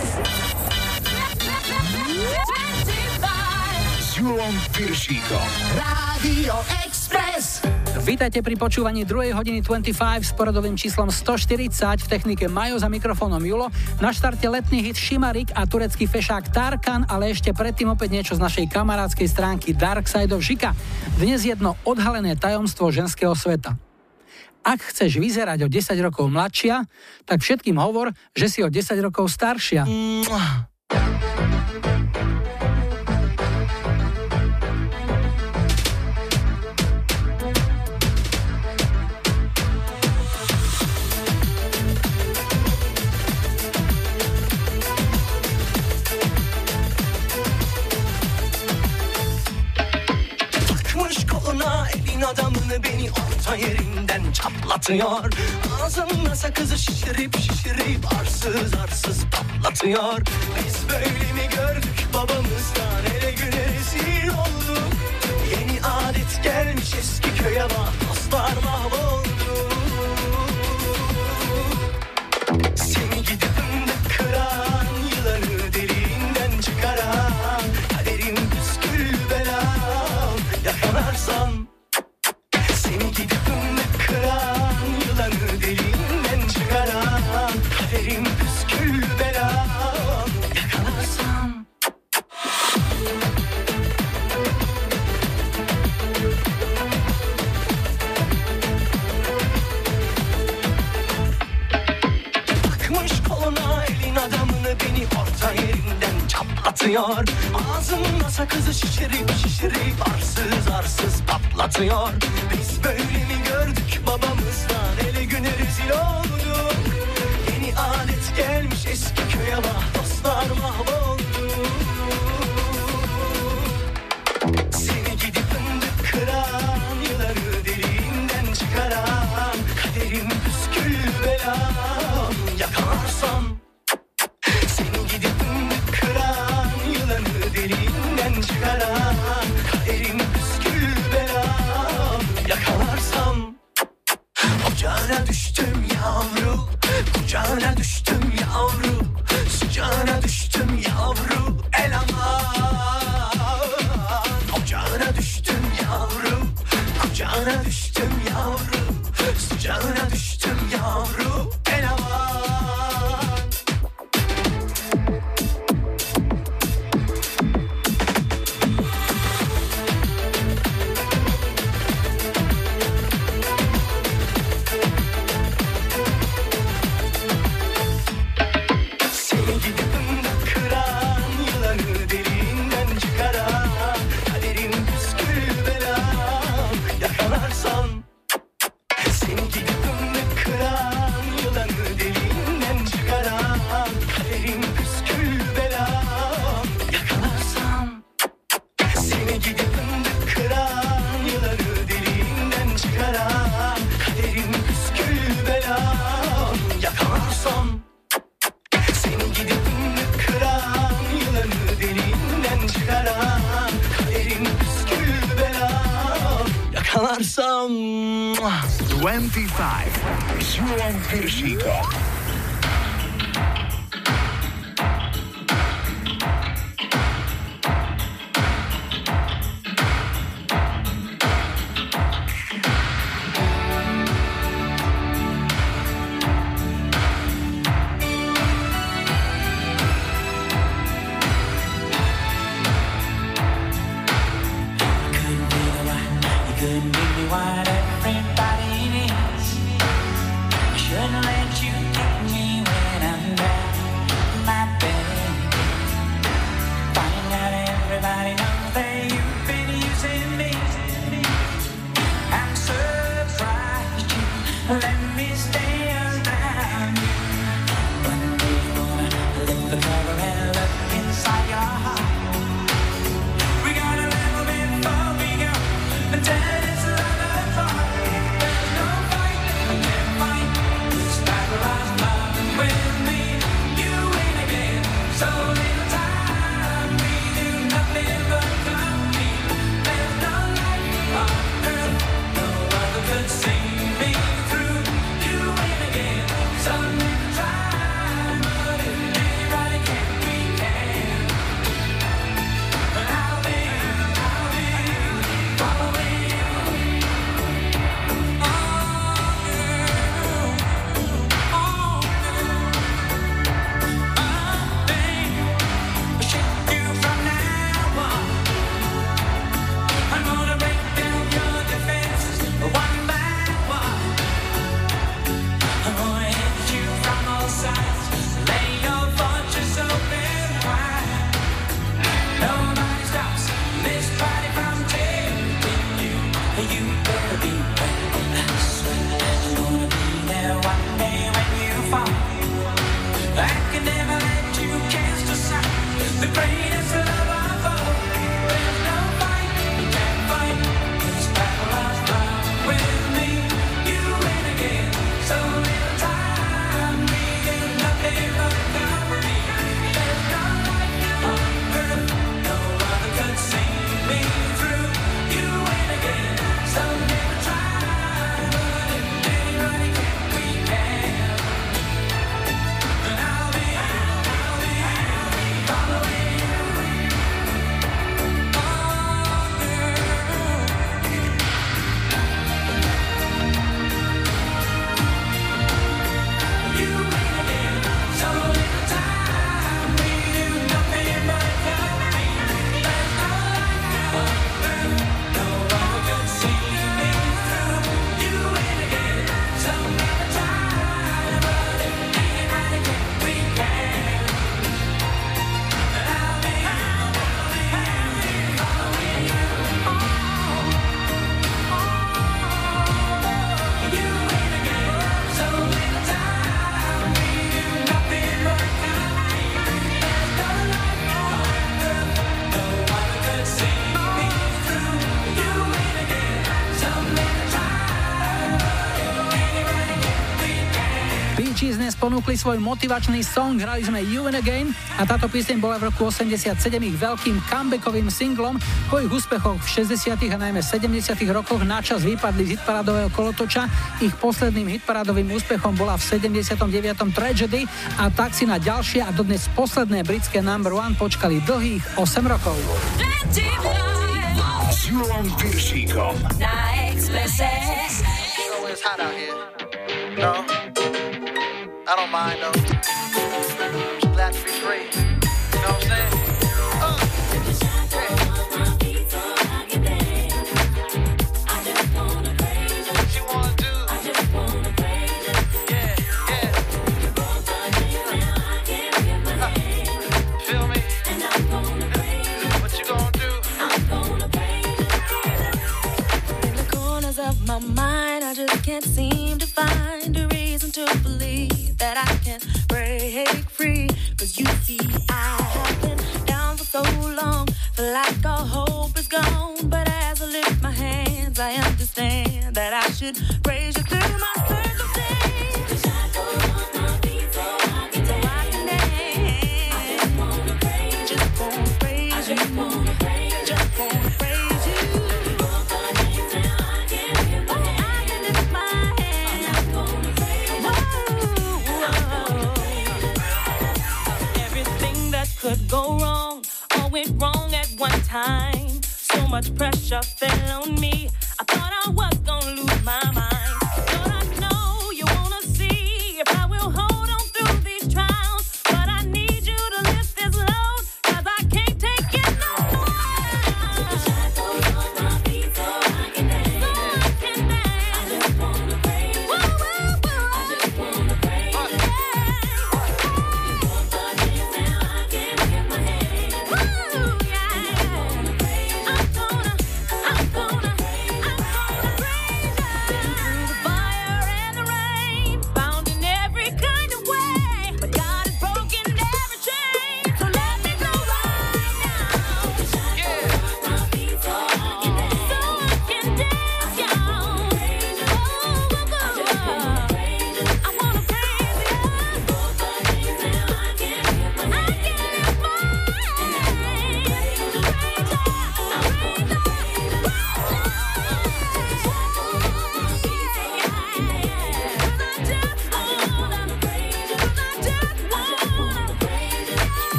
S Julom Piršíkom. Rádio Express. Vítajte pri počúvaní druhej hodiny dvadsaťpäť s poradovým číslom stoštyridsať, v technike Majo, za mikrofónom Julo. Na štarte letný hit Šimarik a turecký fešák Tarkan, ale ešte predtým opäť niečo z našej kamarádskej stránky Dark Side of Žika. Dnes jedno odhalené tajomstvo ženského sveta. Ak chceš vyzerať o desať rokov mladšia, tak všetkým hovor, že si o desať rokov staršia. Elin adamını beni orta yerinden çatlatıyor. Ağzımda sakızı şişirip şişirip arsız arsız patlatıyor. Biz böyle mi gördük babamızdan, hele güne rezil olduk. Yeni adet gelmiş eski köye bak, dostlar mahvoldu. Seni gidip fındık kıran, yılanı deliğinden çıkaran, kaderim püskül belam, yakalarsan. Seni gidip fındık kıran, yılanı deliğinden çıkaran, kaderim püskül belam, yakalarsam. Takmış koluna elin adamını beni orta yerinden çatlatıyor. Ağzımda sakızı şişirip şişirip arsız arsız patlatıyor. Biz böyle mi gördük babamızdan, hele güne rezil olduk. Yeni alet gelmiş eski köye bak, dostlar mahvoldu. Seni gidip fındık kıran, yılanı deliğinden çıkaran, kaderim püskül belam, yakalarsam. Seni gidip fındık kıran, yılanı deliğinden çıkaran, kaderim püskül belam, yakalarsam. Ocağına düştüm yavru, kucağına düştüm yavru, sıcağına düştüm yavru, el aman. Ocağına düştüm yavru, kucağına düştüm yavru, sıcağına düştüm yavru, el aman. dvadsaťpäť s Julom Piršíkom. What everybody needs. I shouldn't let you the never end look inside your heart. We got a little bit before we go, and then it's another part. There's no fight, we can't fight. It's paralyzed love with me, you win again. So little time, we do nothing but compete. There's no life on earth, no other could see me through. You win again. So little time, but if anybody can, we can. But I'll be, I'll be following you. Oh, girl, oh, girl. One thing I should do from now on. I'm gonna break down your defenses one by one. I'm gonna hit you from all sides, lay your fortress open wide. Nobody stops this body from taking you. You better be ready. I swear I'm gonna be there one day when you fall. I can never let you cast aside the greatest love of all. There's no fight, you can't fight. It's paralyzed love with me. You win again. So little time, we do nothing but compete. There's no life on earth, no other could see me through. You win again. So little time, but if anybody can, we can. And I'll be, I'll be following you. Oh, girl. You win again. So little time, we do nothing but compete. There's no life on earth, no one could see me through. You win again. So little time, but if anybody can, we can. And I'll be, I'll be following you. You win again. So little time, we do nothing but compete. There's no life on earth, no one could see me through. You win again. So little time, but if anybody can, we can. Bee Gees dnes ponúkli svoj motivačný song, hrali sme You and Again a táto pieseň bola v roku osemdesiatsedem ich veľkým comebackovým singlom. Po ich úspechoch v šesťdesiatych a najmä sedemdesiatych rokoch načas vypadli z hitparádového kolotoča. Ich posledným hitparádovým úspechom bola v sedemdesiatom deviatom Tragedy a tak si na ďalšie a dodnes posledné britské number one počkali dlhých osem rokov. S Julom Piršíkom. Na Expresse. You know it's hot out here. No, I don't mind though. Just glad to be free. You know what I'm saying? Uh, what you wanna do? Yeah, yeah. Uh, feel me? What you gonna do? In the corners of my mind, I just can't seem to find a reason to believe that I can break free. Cause you see, I have been down for so long, feel like all hope is gone. But as I lift my hands, I understand that I should praise you through my circumstance. So I can dance. Just wanna praise you. Just wanna praise you. Just wanna praise you. Could go wrong, all went wrong at one time. So much pressure fell on me, I thought I was gonna lose my mind. But I know you wanna see if I will hold on through these trials. But I need you to lift this load, cause I can't take it no more. Shackles on my feet so I can dance. So I can dance. I just wanna praise you. Whoa, whoa, whoa. I just wanna praise you. I'm gonna, I'm gonna, I'm gonna praise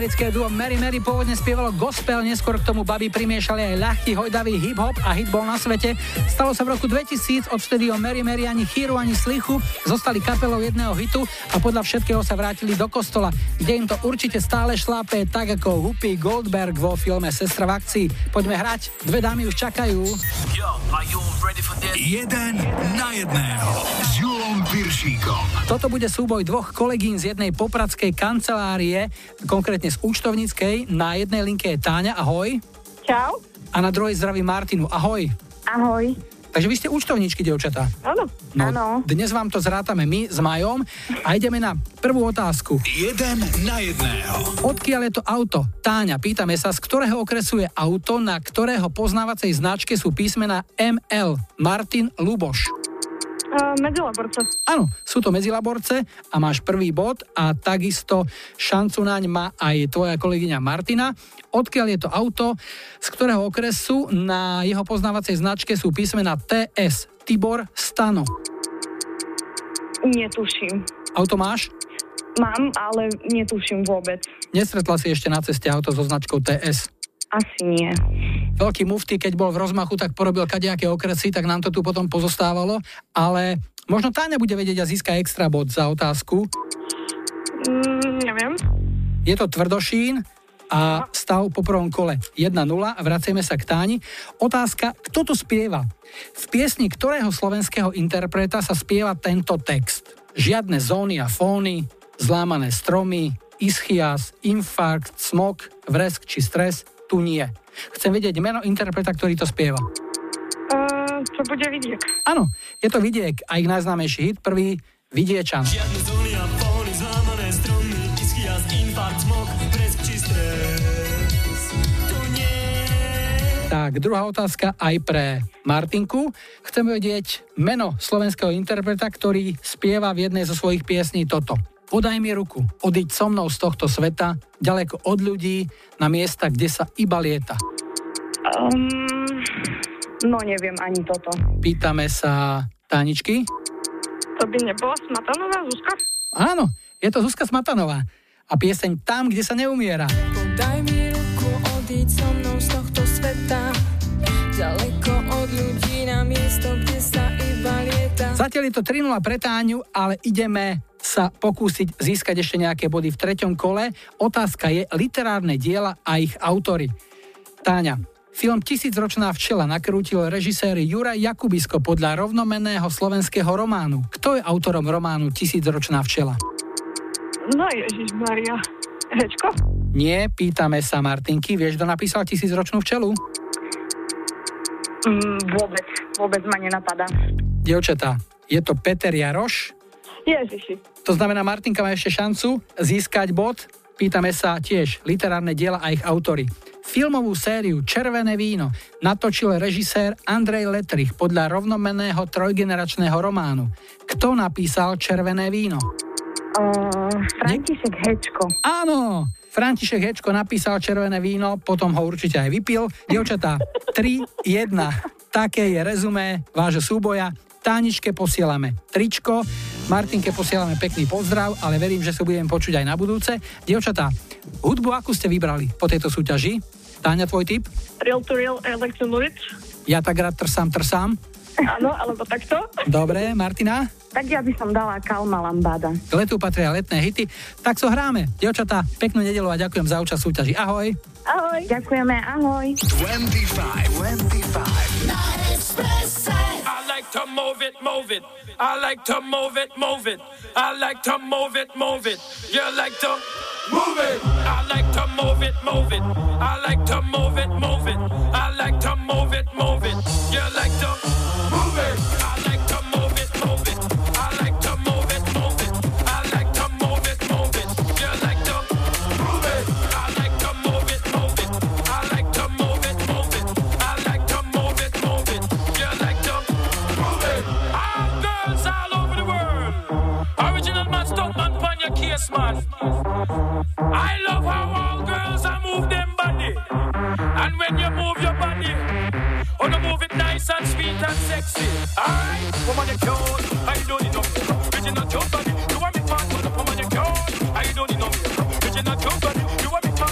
americké duo Mary Mary pôvodne spievalo gospel, neskôr k tomu baby primiešali aj ľahký hojdavý hip-hop a hit bol na svete. Stalo sa v roku dvetisíc, odvtedy o Mary Mary ani chýru, ani slichu, zostali kapelou jedného hitu a podľa všetkého sa vrátili do kostola, kde im to určite stále šlápe, tak ako Whoopi Goldberg vo filme Sestra v akcii. Poďme hrať, dve dámy už čakajú. Yo, are you ready for this? Jeden na jedného s Julom Piršíkom. Toto bude súboj dvoch kolegín z jednej popradskej kancelárie, konkrétne z účtovníckej. Na jednej linke je Táňa, ahoj. Čau. A na druhej zdraví Martinu, ahoj. Ahoj. Takže vy ste účtovníčky, dievčatá. Áno. No, Áno. dnes vám to zrátame my s Majom a ideme na prvú otázku. Jeden na jedného. Odkiaľ je to auto? Táňa, pýtame sa, z ktorého okresu je auto, na ktorého poznávacej značke sú písmená em el. Martin, Luboš. Uh, medzilaborce. Áno, sú to medzilaborce a máš prvý bod a takisto šancu naň má aj tvoja kolegyňa Martina. Odkiaľ je to auto, z ktorého okresu na jeho poznávacej značke sú písmená té es. Tibor, Stano. Netuším. Auto máš? Mám, ale netuším vôbec. Nestretla si ešte na ceste auto so značkou té es? Asi nie. Veľký mufti, keď bol v rozmachu, tak porobil kadejaké okresy, tak nám to tu potom pozostávalo, ale možno Táňa bude vedieť a získa extra bod za otázku. Mm, neviem. Je to Tvrdošín a stav po prvom kole jedna nula a vraceme sa k Táni. Otázka, kto to spieva? V piesni ktorého slovenského interpreta sa spieva tento text? Žiadne zóny a fóny, zlámané stromy, ischias, infarkt, smog, vresk či stres, tu nie. Chcem vedieť meno interpreta, ktorý to spieva. Uh, to bude Vidiek. Áno, je to Vidiek a ich najznámejší hit, prvý Vidiečan. Žiadne zóny a fóny, zlámané stromy, ischias, infarkt, smog, vresk či stres. Tu nie. Tak, druhá otázka aj pre Martinku. Chcem vedieť meno slovenského interpreta, ktorý spieva v jednej zo svojich piesní toto. Podaj mi ruku, odíď so mnou z tohto sveta, ďaleko od ľudí, na miesta, kde sa iba lieta. Um, no neviem ani toto. Pýtame sa Táničky. To by nebola Smatanová Zuzka? Áno, je to Zuzka Smatanová. A pieseň Tam, kde sa neumiera. Podaj mi ruku, odíď so mnou z tohto sveta, ďaleko od ľudí, na miesto, kde sa iba lieta. Zatiaľ je to tri nula pre Táňu, ale ideme sa pokúsiť získať ešte nejaké body v treťom kole. Otázka je literárne diela a ich autory. Táňa, film Tisícročná včela nakrútil režisér Juraj Jakubisko podľa rovnomenného slovenského románu. Kto je autorom románu Tisícročná včela? No Ježišmaria. Hečko? Nie, pýtame sa Martinky. Vieš, kto napísal Tisícročnú včelu? Mm, vôbec. Vôbec ma nenapadá. Dievčatá, je to Peter Jaroš. Ježiši. To znamená, Martinka má ešte šancu získať bod. Pýtame sa tiež literárne diela a ich autory. Filmovú sériu Červené víno natočil režisér Andrej Letrich podľa rovnomenného trojgeneračného románu. Kto napísal Červené víno? Uh, František Hečko. Áno, František Hečko napísal Červené víno, potom ho určite aj vypil. Dievčatá, tri jedna. Také je rezumé vášho súboja. Táničke posielame tričko, Martinke posielame pekný pozdrav, ale verím, že sa budeme počuť aj na budúce. Dievčatá, hudbu akú ste vybrali po tejto súťaži? Táňa, tvoj tip? Real to real, Electro Lurid. Ja tak rád trsám, trsám. Áno, alebo takto. Dobre, Martina? Tak ja by som dala Kalma Lambada. K letu patria letné hity. Tak so hráme. Dievčatá, peknú nedeľu a ďakujem za účasť súťaži. Ahoj. Ahoj. Ďakujeme, ahoj. dvadsaťpäť, dvadsaťpäť. Na Expresse. I like to move it, move it. I like to move it, move it. I like to move it, move it. You like to move it. I like to move it, move it. I like to move it, move it. I like to move it, move it. You like to move it. I like to move it, move it. I like to move it, move it. I like to move it, move it. You like to move it. I like to move it, move it. I like to move it, move it. I like to move it, move it. You like to move it. All girls all over the world. Original man, stunt man, pan your case, man. I love how all girls are move them body. And when you move your body, oh, you move it nice and sweet and sexy. Alright, woman, you cute. I don't need no original cute body. You want me fat, woman, you cute. I don't need no original cute body. You want me fat.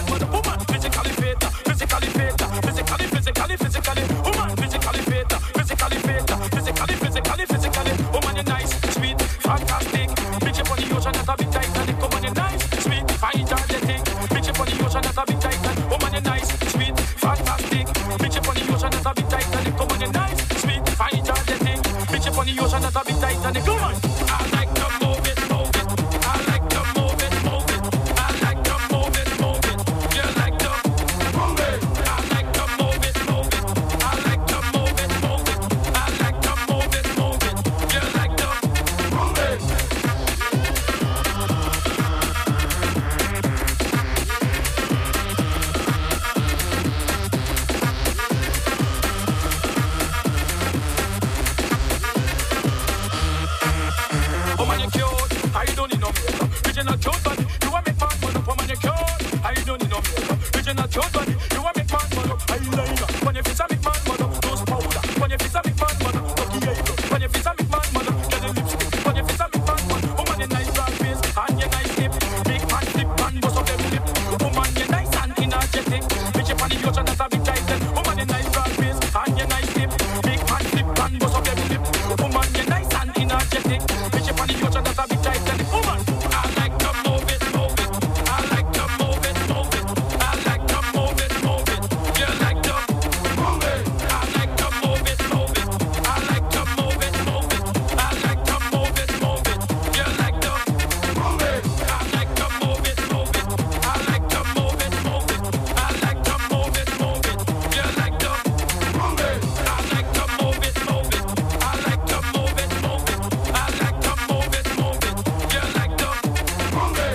Fish up on the ocean, that's a bit tight. Tell the woman, I like to move it, move it. I like to move it, move it. I like to move it, move it. You like to move it. I like to move it, move it. I like to move it, move it. I like to move it, move it. You like to move it. I like to move it, move it. I like to move it, move it. I like to move it, move it. You like to move it. I like to move it, move it. I like to move it, move it. I like to move it, move it. You like to move it.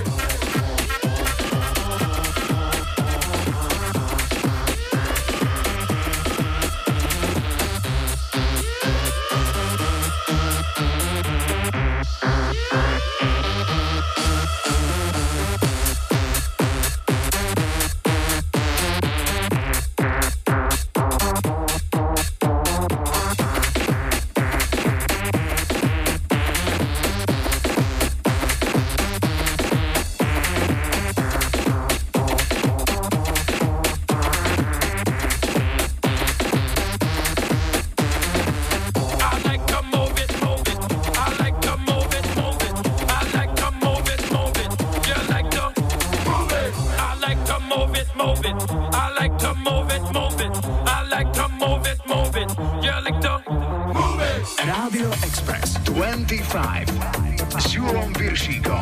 I like to move it, move it. I like to move it, move it. I like to move it, move it. You like to move it. I like to move it, move it. I like to move it, move it. I like to move it, move it. You like to move it. Rádio Express dvadsaťpäť s Julom Piršíkom.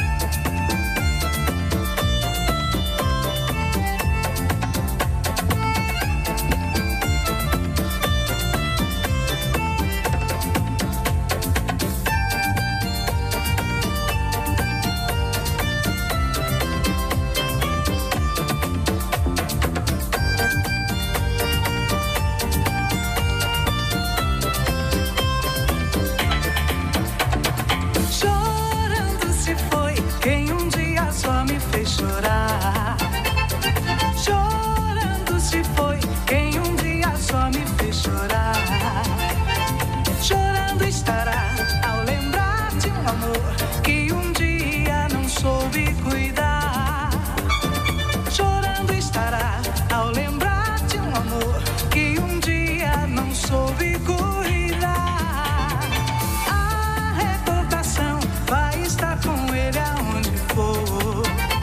Chorando se foi quem um dia só me fez chorar. Chorando se foi quem um dia só me fez chorar. Chorando estará ao lembrar de um amor que um dia não soube cuidar. Chorando estará ao lembrar de um amor que um dia não soube cuidar. A recordação vai estar com ele aonde for.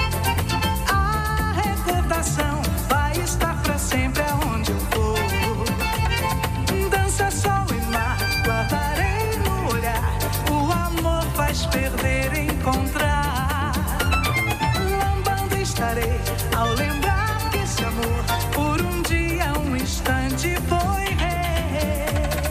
A recordação vai estar pra sempre aonde eu for. Dança, sol e mar, guardarei no olhar. O amor faz perder e encontrar. Lambando estarei ao lembrar que esse amor por um dia, um instante foi rei.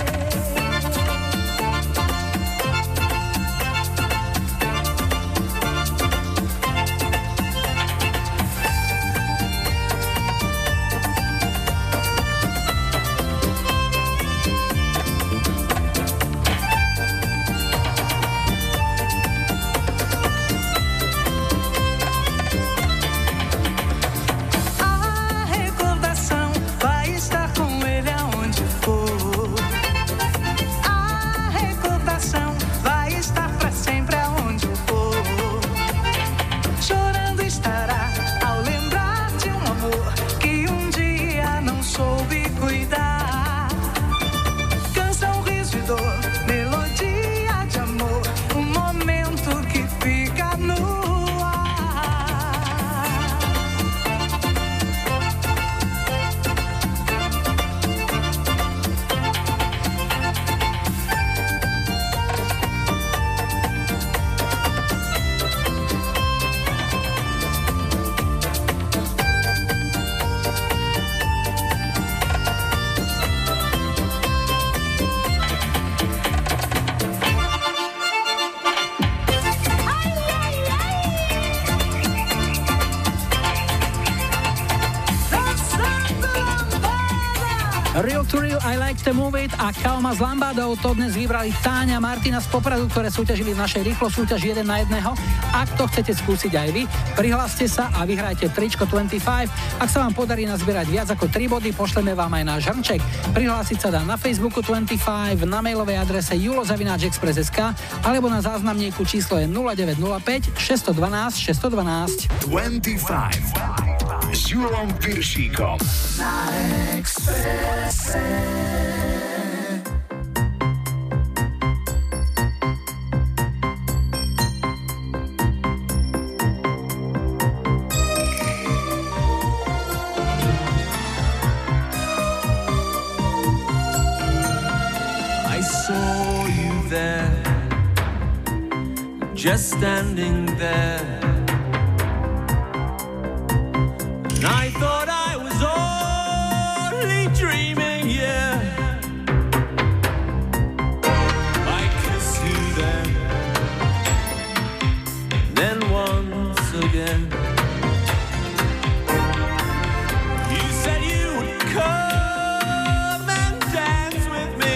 A recordação vai estar com ele aonde for. A recordação vai estar pra sempre aonde eu for. Chorando estará ao lembrar de um amor que um dia não soube cuidar. Canção, riso e dor, melodia de amor, um momento que fica no ar. Real to Real, I Like to Move It a Kalma s Lambadou. To dnes vybrali Táňa a Martina z Popradu, ktoré súťažili v našej rýchlo súťaži jeden na jedného. Ak to chcete skúsiť aj vy, prihláste sa a vyhrajte tričko dvadsaťpäť. Ak sa vám podarí nazbierať viac ako tri body, pošleme vám aj náš hrnček. Prihlásiť sa dá na Facebooku dvadsaťpäť, na mailovej adrese julo zavináč express bodka es ká alebo na záznamníku číslo je nula deväť nula päť šesť jedna dva šesť jedna dva. dvadsaťpäť s Julom Piršíkom na Expresse. just standing there. And I thought I was only dreaming, yeah. I kissed you then, then once again. You said you would come and dance with me,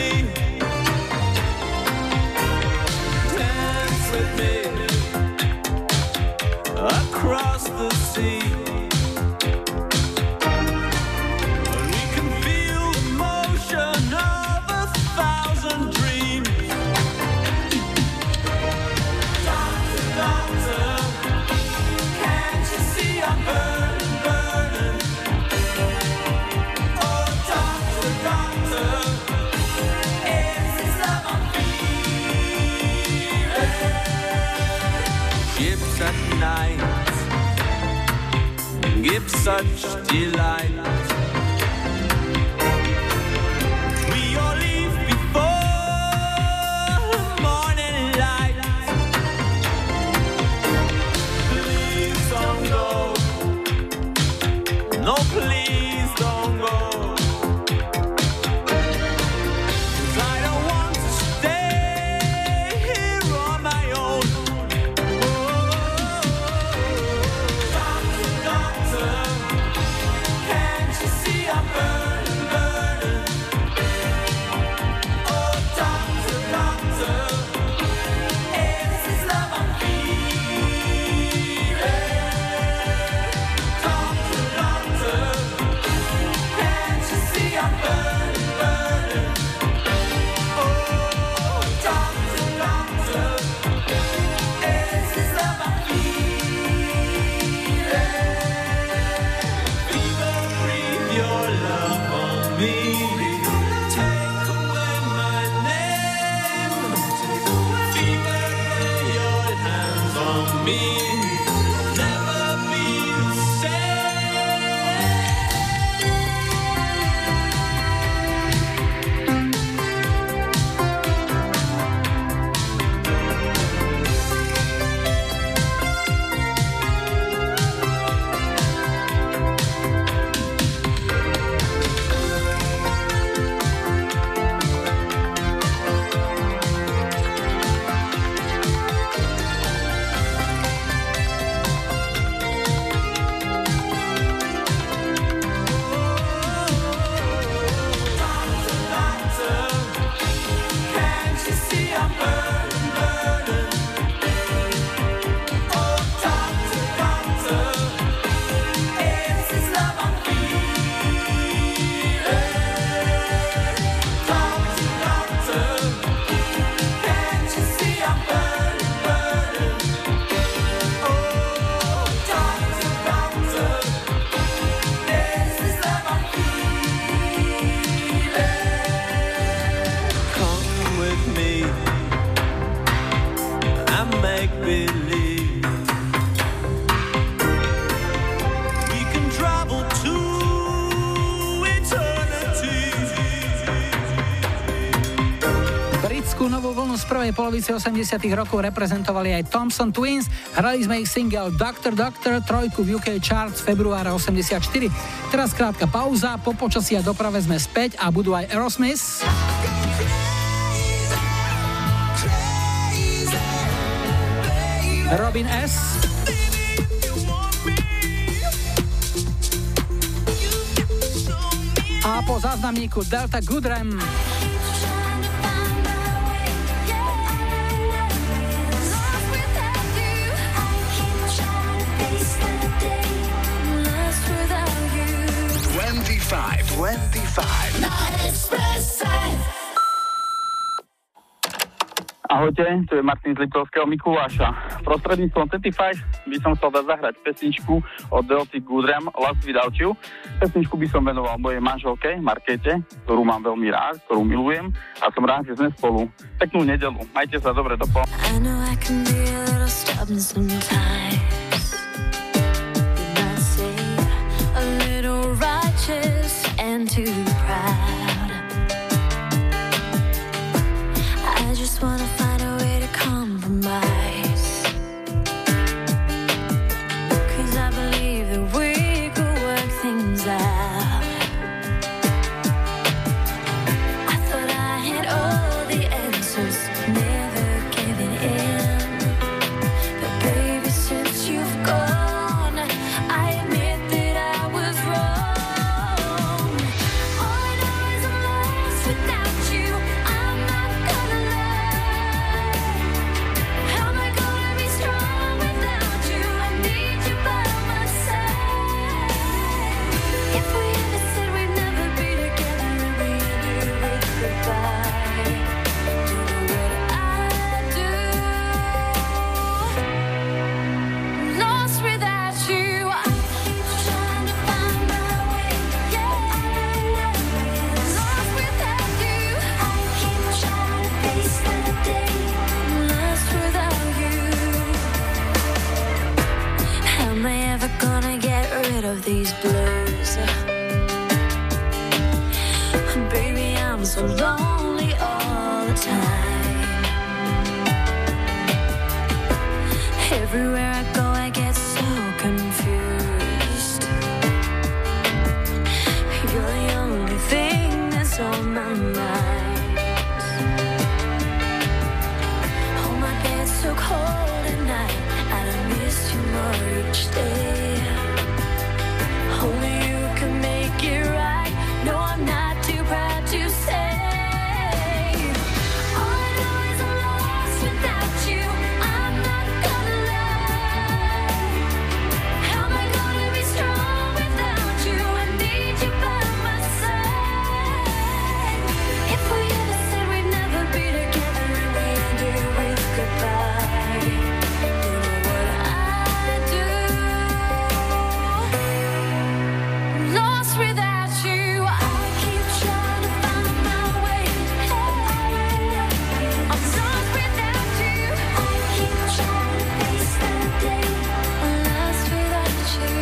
dance with me across the sea. Give such delight. We all leave before morning light. Please don't go. No, please don't go. 'Cause I don't want to stay here on my own. Z prvej polovice osemdesiatych rokov reprezentovali aj Thompson Twins, hrali sme ich single Doctor Doctor, trojku v ú ká Charts februára osemdesiatštyri. Teraz krátka pauza, po počasí a doprave sme späť a budú aj Aerosmith, Robin S, a po záznamníku Delta Goodrem. dvadsaťpäť Na Expresse. Ahojte, tu je Martin z Liptovského Mikuláša. Prostredníctvom dvadsaťpäť by som chcel dať zahrať pesničku od Delty Goodrem Last Without You. Pesničku by som venoval mojej manželke Markéte, ktorú mám veľmi rád, ktorú milujem a som rád, že sme spolu. Peknú nedeľu, majte sa dobre, do po. I know I can be a little stubborn sometimes. Did I say a little righteous and too proud? I just wanna find a way to compromise. these blues. Baby, I'm so lonely all the time. Everywhere I go, I get so confused. You're the only thing that's on my mind. Oh, my bed's so cold at night. I don't miss you more each day. Only you can make it right. No, I'm not too proud to say. All I know is I'm lost without you. I'm not gonna lie. How am I gonna be strong without you? I need you by my side. If we ever said we'd never be together and we ended with goodbye, you know what I'd do. I'm lost without you. I keep trying to find my way. I'm lost without you. I keep trying to face the day. I'm lost without you.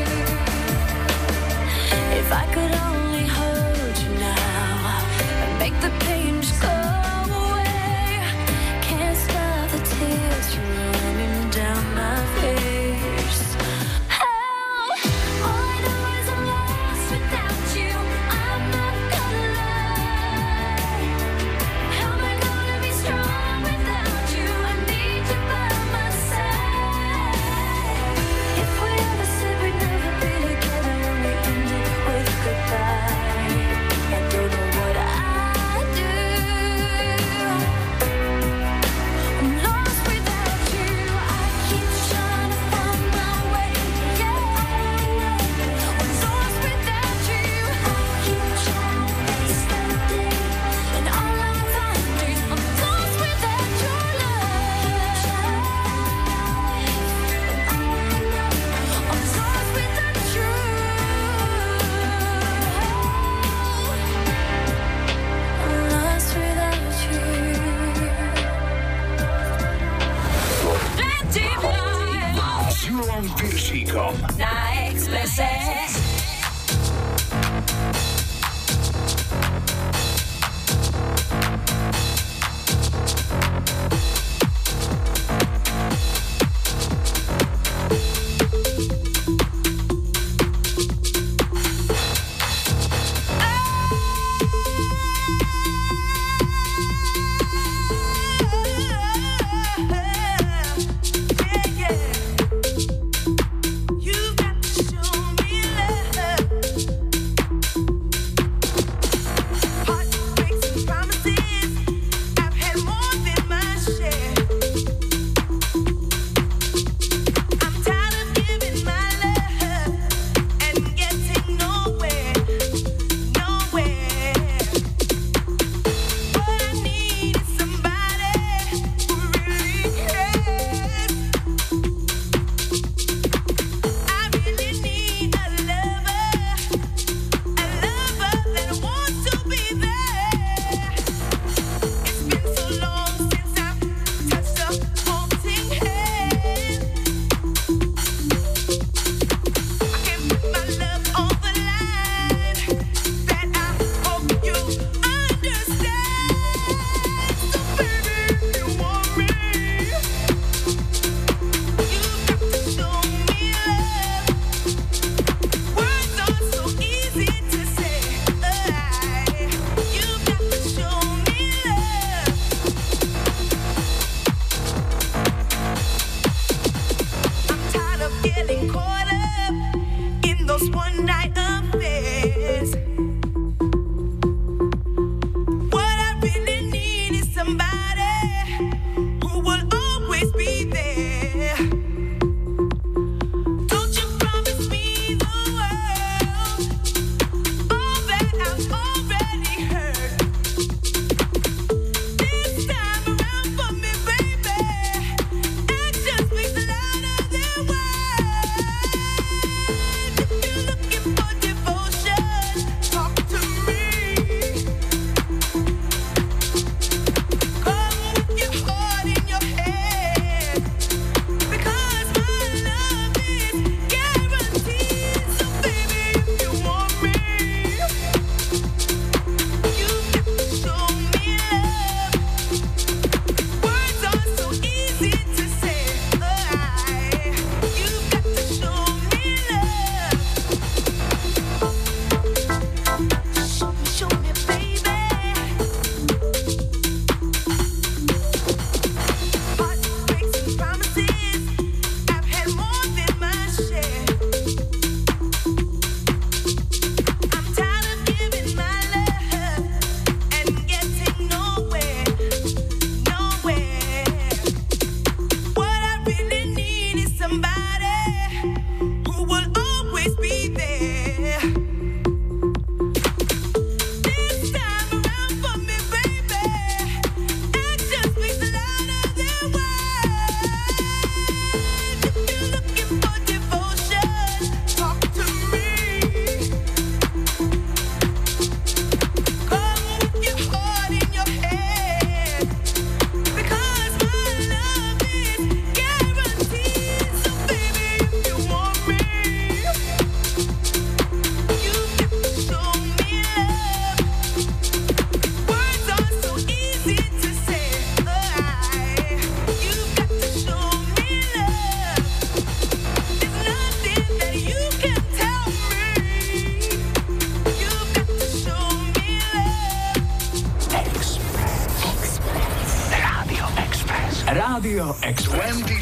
If I could only hold you now and make the pain just go away. Can't stop the tears from running down my face. Oh, all I know is I'm lost without you. I'm not gonna lie. How am I gonna be strong without you? I need you by my side. If we ever said we'd never be together and we ended with goodbye, I don't know what I'd do. I'm lost without you. I keep trying to find my way. I'm lost without you. I keep trying to face the day, and all I find is I'm lost without your love. I'm lost without you. I'm lost without you. S Julom Piršíkom. Na Expresse. You've got to show me love.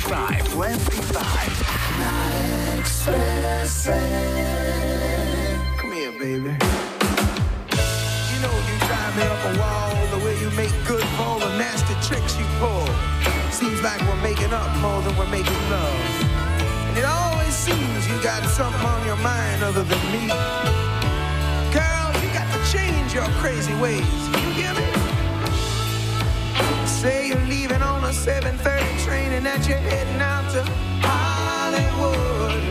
dvadsaťpäť. dvadsaťpäť. Come here, baby. You know you drive me up a wall, the way you make good for all the nasty tricks you pull. Seems like we're making up more than we're making love. And it always seems you got something on your mind other than me. Girl, you got to change your crazy ways. You hear me? Say you're leaving on a seven thirty train and that you're heading out to Hollywood.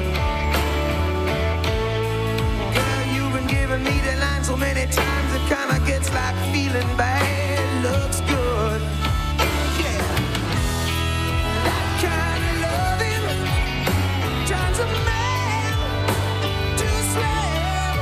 Girl, you've been giving me the line so many times it kinda gets like feeling bad looks good. Yeah, that kind of loving turns a man to a slave.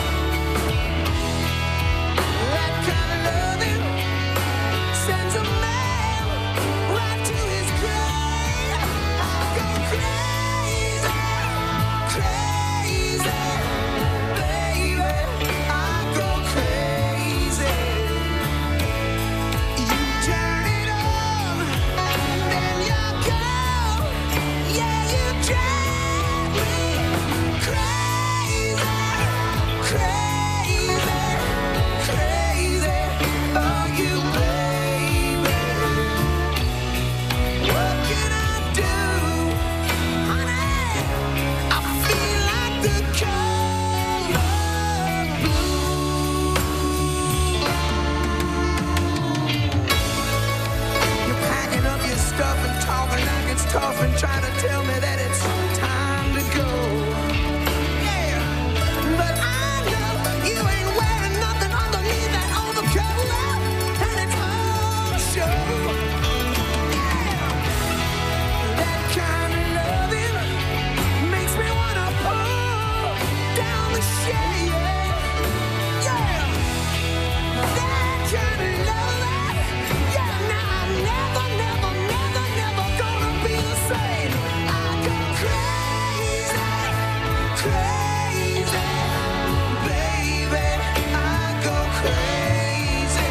That kind of loving sends a man right to his grave. I go crazy, crazy, baby. I go crazy. You turn it on, and then you go. Yeah, you drive me crazy, crazy, crazy. Oh, you baby. What can I do, honey? I feel like the color blue. You're packing up your stuff and talking like it's tough and trying to tell me that it's time to go. Yeah, but I know you ain't wearing nothing underneath that overcoat, and it's all show. That kind of loving makes me wanna pull down the shade. Yeah, that kind of loving. Yeah, now I'm never, never, never, never gonna be the same. I go crazy, crazy, baby. I go crazy.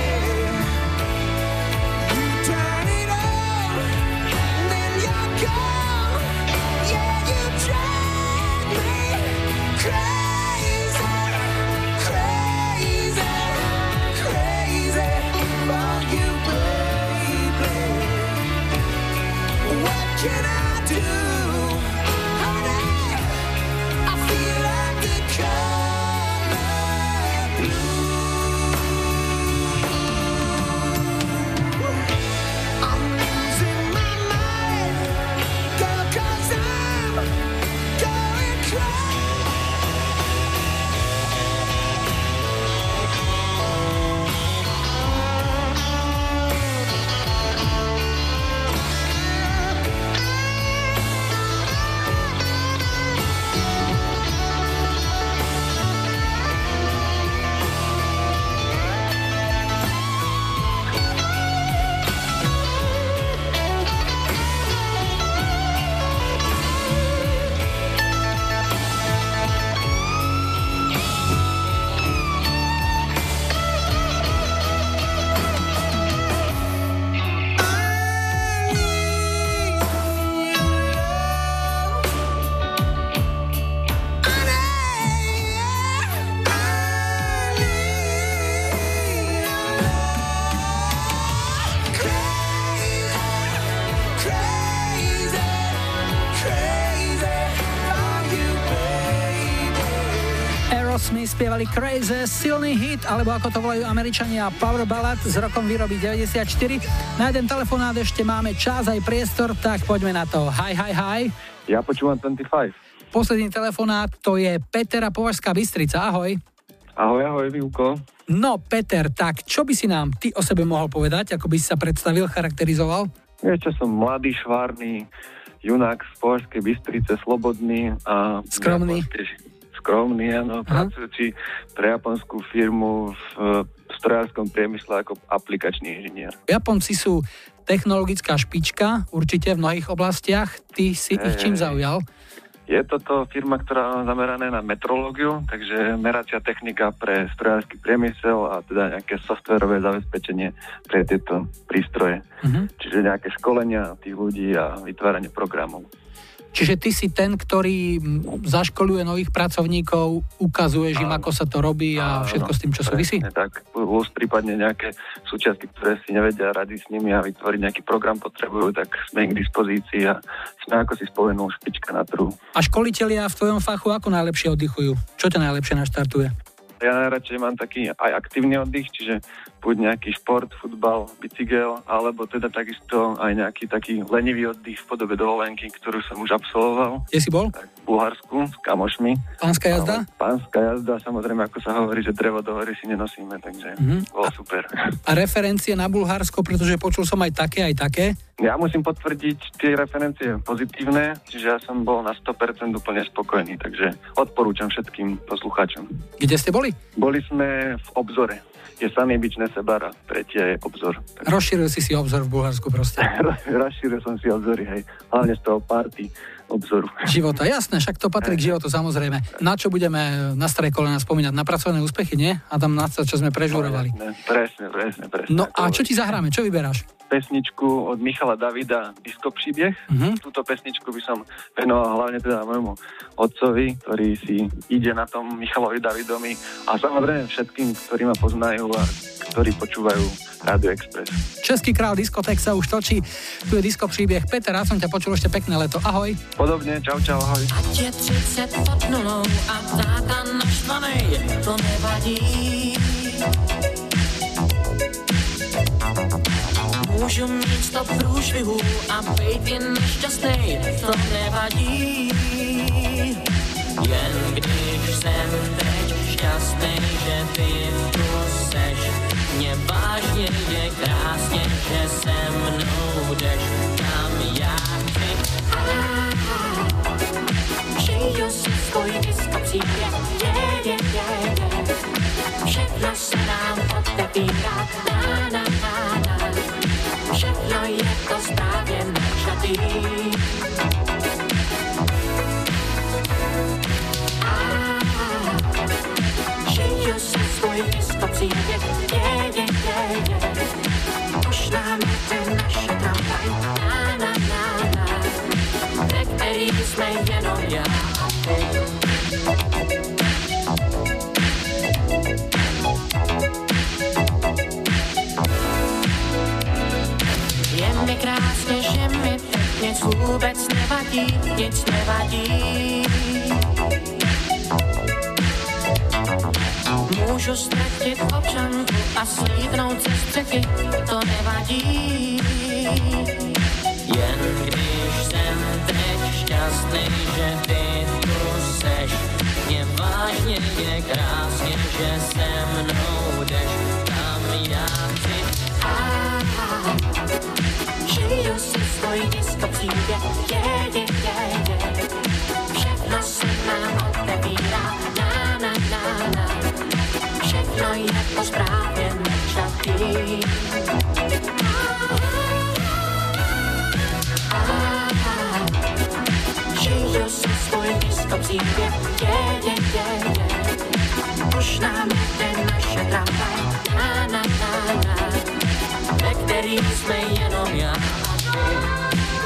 You turn it on, then you're gone. Yeah, you drive me crazy, crazy, crazy for you, baby. What can I do, honey? I feel like the color blue. I'm losing my mind, girl, 'cause I'm going crazy. Aerosmith spievali Crazy, silný hit, alebo ako to volajú Američania, Power Ballad z rokom výroby deväťdesiatštyri. Na jeden telefonát ešte máme čas aj priestor, tak poďme na to. Hi, hi, hi. Ja počúvam dvadsaťpäť. Posledný telefonát, to je Peter a Považská Bystrica, ahoj. Ahoj, ahoj, Výuko. No, Peter, tak čo by si nám ty o sebe mohol povedať, ako by si sa predstavil, charakterizoval? Vieš čo, som mladý, švárny, junák z Považskej Bystrice, slobodný a... Skromný. Skromný, áno, pracujúci pre japonskú firmu v strojárskom priemysle ako aplikačný inžinier. Japonci sú technologická špička, určite v mnohých oblastiach. Ty si Hey, ich čím hey. zaujal? Je toto firma, ktorá je zameraná na metrológiu, takže meracia technika pre strojársky priemysel a teda nejaké softverové zabezpečenie pre tieto prístroje. Mhm. Čiže nejaké školenia tých ľudí a vytváranie programov. Čiže ty si ten, ktorý zaškoluje nových pracovníkov, ukazuješ im, ako sa to robí a všetko s tým, čo súvisí? Tak, plus prípadne nejaké súčiastky, ktoré si nevedia rady s nimi a vytvoriť nejaký program potrebujú, tak sme ich k dispozícii a sme, ako si spomenul, špička na trhu. A školitelia v tvojom fachu ako najlepšie oddychujú? Čo ťa najlepšie naštartuje? Ja najradšej mám taký aj aktívny oddych, čiže buď nejaký šport, futbal, bicykel, alebo teda takisto aj nejaký taký lenivý oddych v podobe dovolenky, ktorú som už absolvoval. Kde si bol? Tak, v Bulharsku s kamošmi. Pánska jazda? Ale pánska jazda, samozrejme, ako sa hovorí, že drevo do hory si nenosíme, takže Mhm. bolo super. A referencie na Bulharsko, pretože počul som aj také, aj také? Ja musím potvrdiť tie referencie pozitívne, čiže ja som bol na sto percent úplne spokojný, takže odporúčam všetkým poslucháčom. Kde ste boli? Boli sme v Obzore. Je Samý Bič Nesebara, tretia je Obzor. Rozšíril si si obzor v Bulharsku proste. Rozšíril som si obzory, hej. Hlavne z toho party obzoru. Života, jasné, však to patrí k životu, samozrejme. Na čo budeme na staré kolena spomínať? Na pracovné úspechy, nie? A tam na to, čo sme prežurovali. Presne, presne, presne. No a čo ti zahráme? Čo vyberáš? Pesničku od Michala Davida, Disco príbeh. Mhm. Túto pesničku by som venoval hlavne teda môjmu otcovi, ktorý si ide na tom Michalovi Davidovi a samozrejme všetkým, ktorí ma poznajú a ktorí počúvajú Rádio Express. Český král diskoték sa už točí. Tu je Disco príbeh. Peter, ja som ťa počul ešte pekné leto. Ahoj. Podobne, čau, čau, ahoj. Ať je třicet pod nulou a táta naštvanej, to nevadí. Můžu mít sto průšvihů a být jen nešťastnej, to nevadí. Jen když jsem teď šťastnej, že ty tu seš, mě vážně je krásně, že se mnou jdeš, kam já chci. Žiju si svůj disco příběh, je, je, je, je. Všechno se nám otevírá, na, na, na, na. Všechno je to správně načatý. Žiju si svůj disco příběh, je, je, je, je. Už nám jde naše tramvaj, na, na, na, na. Ve který jsme jenom já a ty. Je mi krásně, že mi teď nic vůbec nevadí, nic nevadí. Můžu ztratit občanku a slídnout ze střechy, to nevadí. Jen když jsem teď šťastný, že ty tu seš, mě vážně je krásně, že se mnou jdeš, tam já chci. Žiju si svůj disco příběh, je, je, je, je. Všechno se nám otevírá, na, na, na, na. Všechno je to správně načatý. Žiju si svůj disco příběh, je, je, je, je. Už nám jde naše tramvaj, na, na, na, na. Ve který jsme jenom já a ty.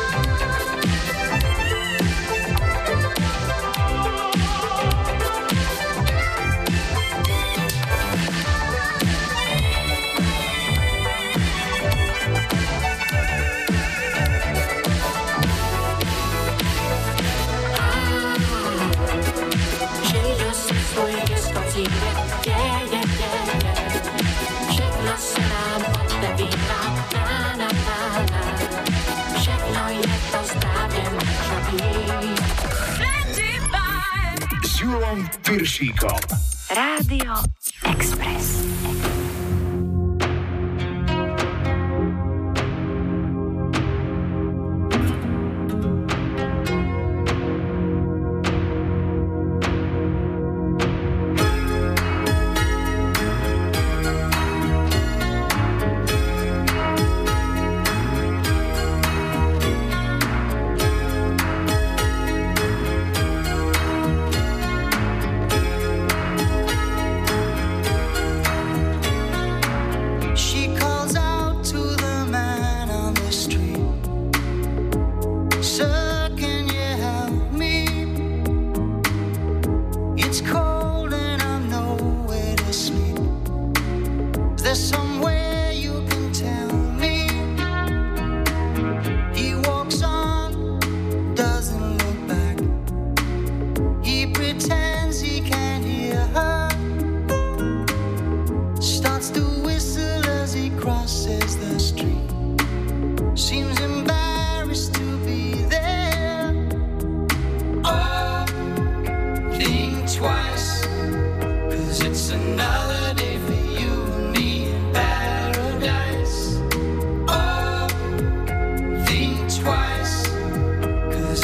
Žiju si svůj disco příběh, je, je, je, je. Všechno se nám otevírá, na, na, na, na. Všechno je to správně načatý. S Julom Piršíkom. Rádio Express.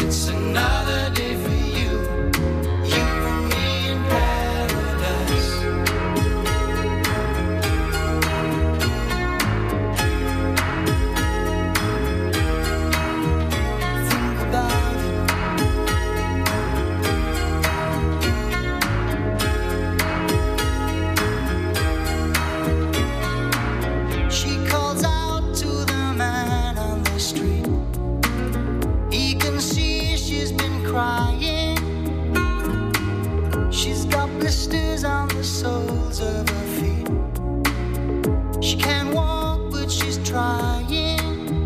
it's another day for you, you and me in paradise. Think about it. She calls out to the man on the street. He can see she's been crying. She's got blisters on the soles of her feet. She can't walk, but she's trying.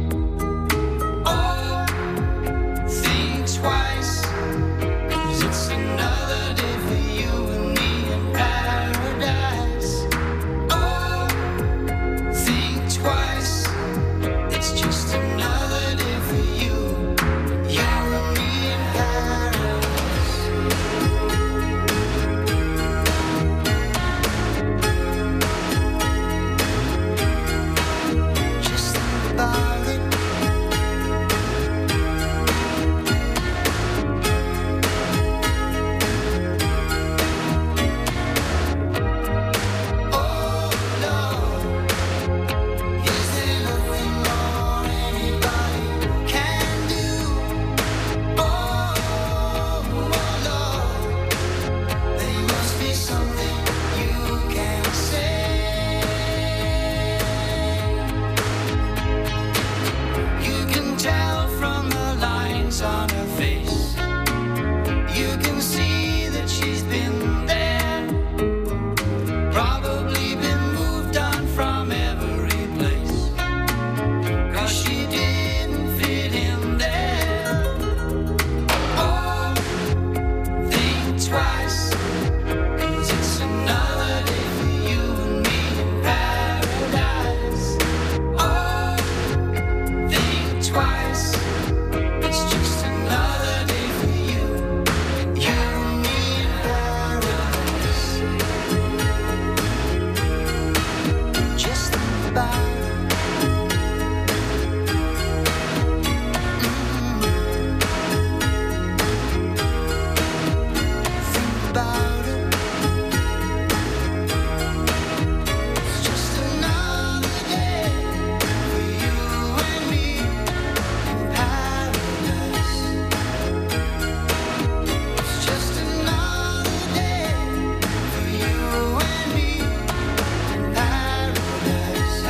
Oh, think twice, 'cause it's another day for you and me in paradise. Oh, think twice, it's just another day for you, you and me in paradise. Just think about it. Oh, Lord. Is there nothing more anybody can do? Oh, Lord, there must be something you can say. You can tell from the lines on her face. You can see that she's been there. Probably been moved on from every place, 'cause she didn't fit in there. Oh, think twice, 'cause it's another day for you and me in paradise. Oh, think twice, it's just another day for you, you and me in paradise. Just think about it. Think about it. It's just another day for you and me in paradise. It's just another day for you and me in paradise.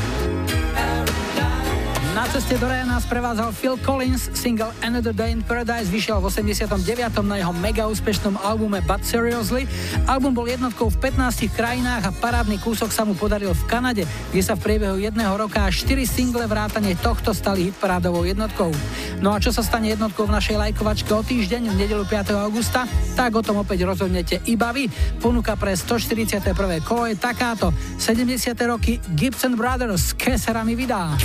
Paradise. Na ceste do raja nás prevádzal Phil Collins, single Another Day in Paradise vyšiel v osemdesiatom deviatom na jeho mega úspešnom albume But Seriously. Album bol jednotkou v pätnástich krajinách a parádny kúsok sa mu podaril v Kanade, kde sa v priebehu jedného roka až štyri single vrátane tohto stali hitparádovou jednotkou. No a čo sa stane jednotkou v našej lajkovačke o týždeň v nedeľu piateho augusta, tak o tom opäť rozhodnete iba vy. Ponuka pre stoštyridsiate prvé kolo je takáto: sedemdesiate roky Gibson Brothers, Que sera mi vida.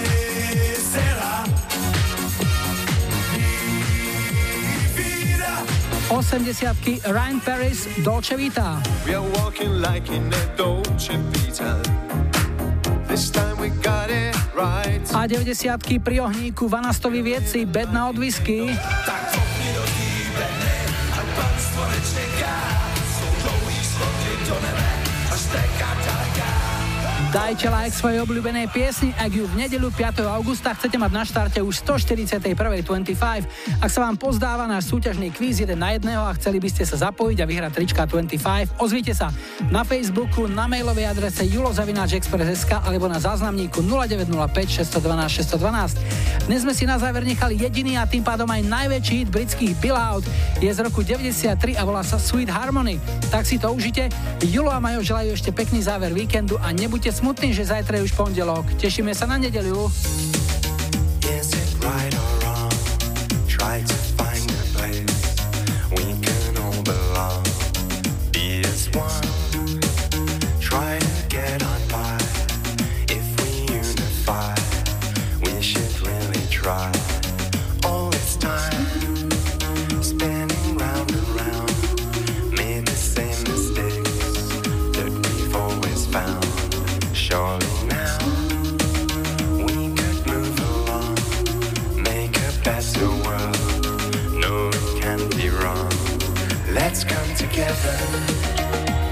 osemdesiatky Ryan Paris, Dolce Vita. We are walking like in a Dolce Vita. This time we got it right. A deväťdesiatky pri ohníku Vanastovi Viedci, Bedna od whisky. Tak kopni do tý bedny a panstvo nečeká. Jsou dlouhý skoky do nebe, až teká ďaleká. Dajte like svojej obľúbenej piesni, ak ju v nedeľu piateho augusta chcete mať na štarte už stoštyridsiatej prvej dvadsaťpäť. Ak sa vám pozdáva náš súťažný kvíz jeden na jedného a chceli by ste sa zapojiť a vyhrať trička dvadsaťpäť, ozvite sa na Facebooku, na mailovej adrese julo zavináč express bodka es ká alebo na záznamníku nula deväť nula päť šesť jedna dva šesť jedna dva. Dnes sme si na záver nechali jediný a tým pádom aj najväčší hit britských Bill Out. Je z roku deväťdesiattri a volá sa Sweet Harmony. Tak si to užite. Julo a Majo želajú ešte pekný záver víkendu a nebuďte smutný, že zajtra je už pondelok. Tešíme sa na nedeľu. Is it right or wrong? Try to find a place we can all belong. Be as one. Try to get on by. If we unify, we should really try. All this time, spinning round and round, made the same mistakes that we've always found. Surely now we could move along, make Let's come together.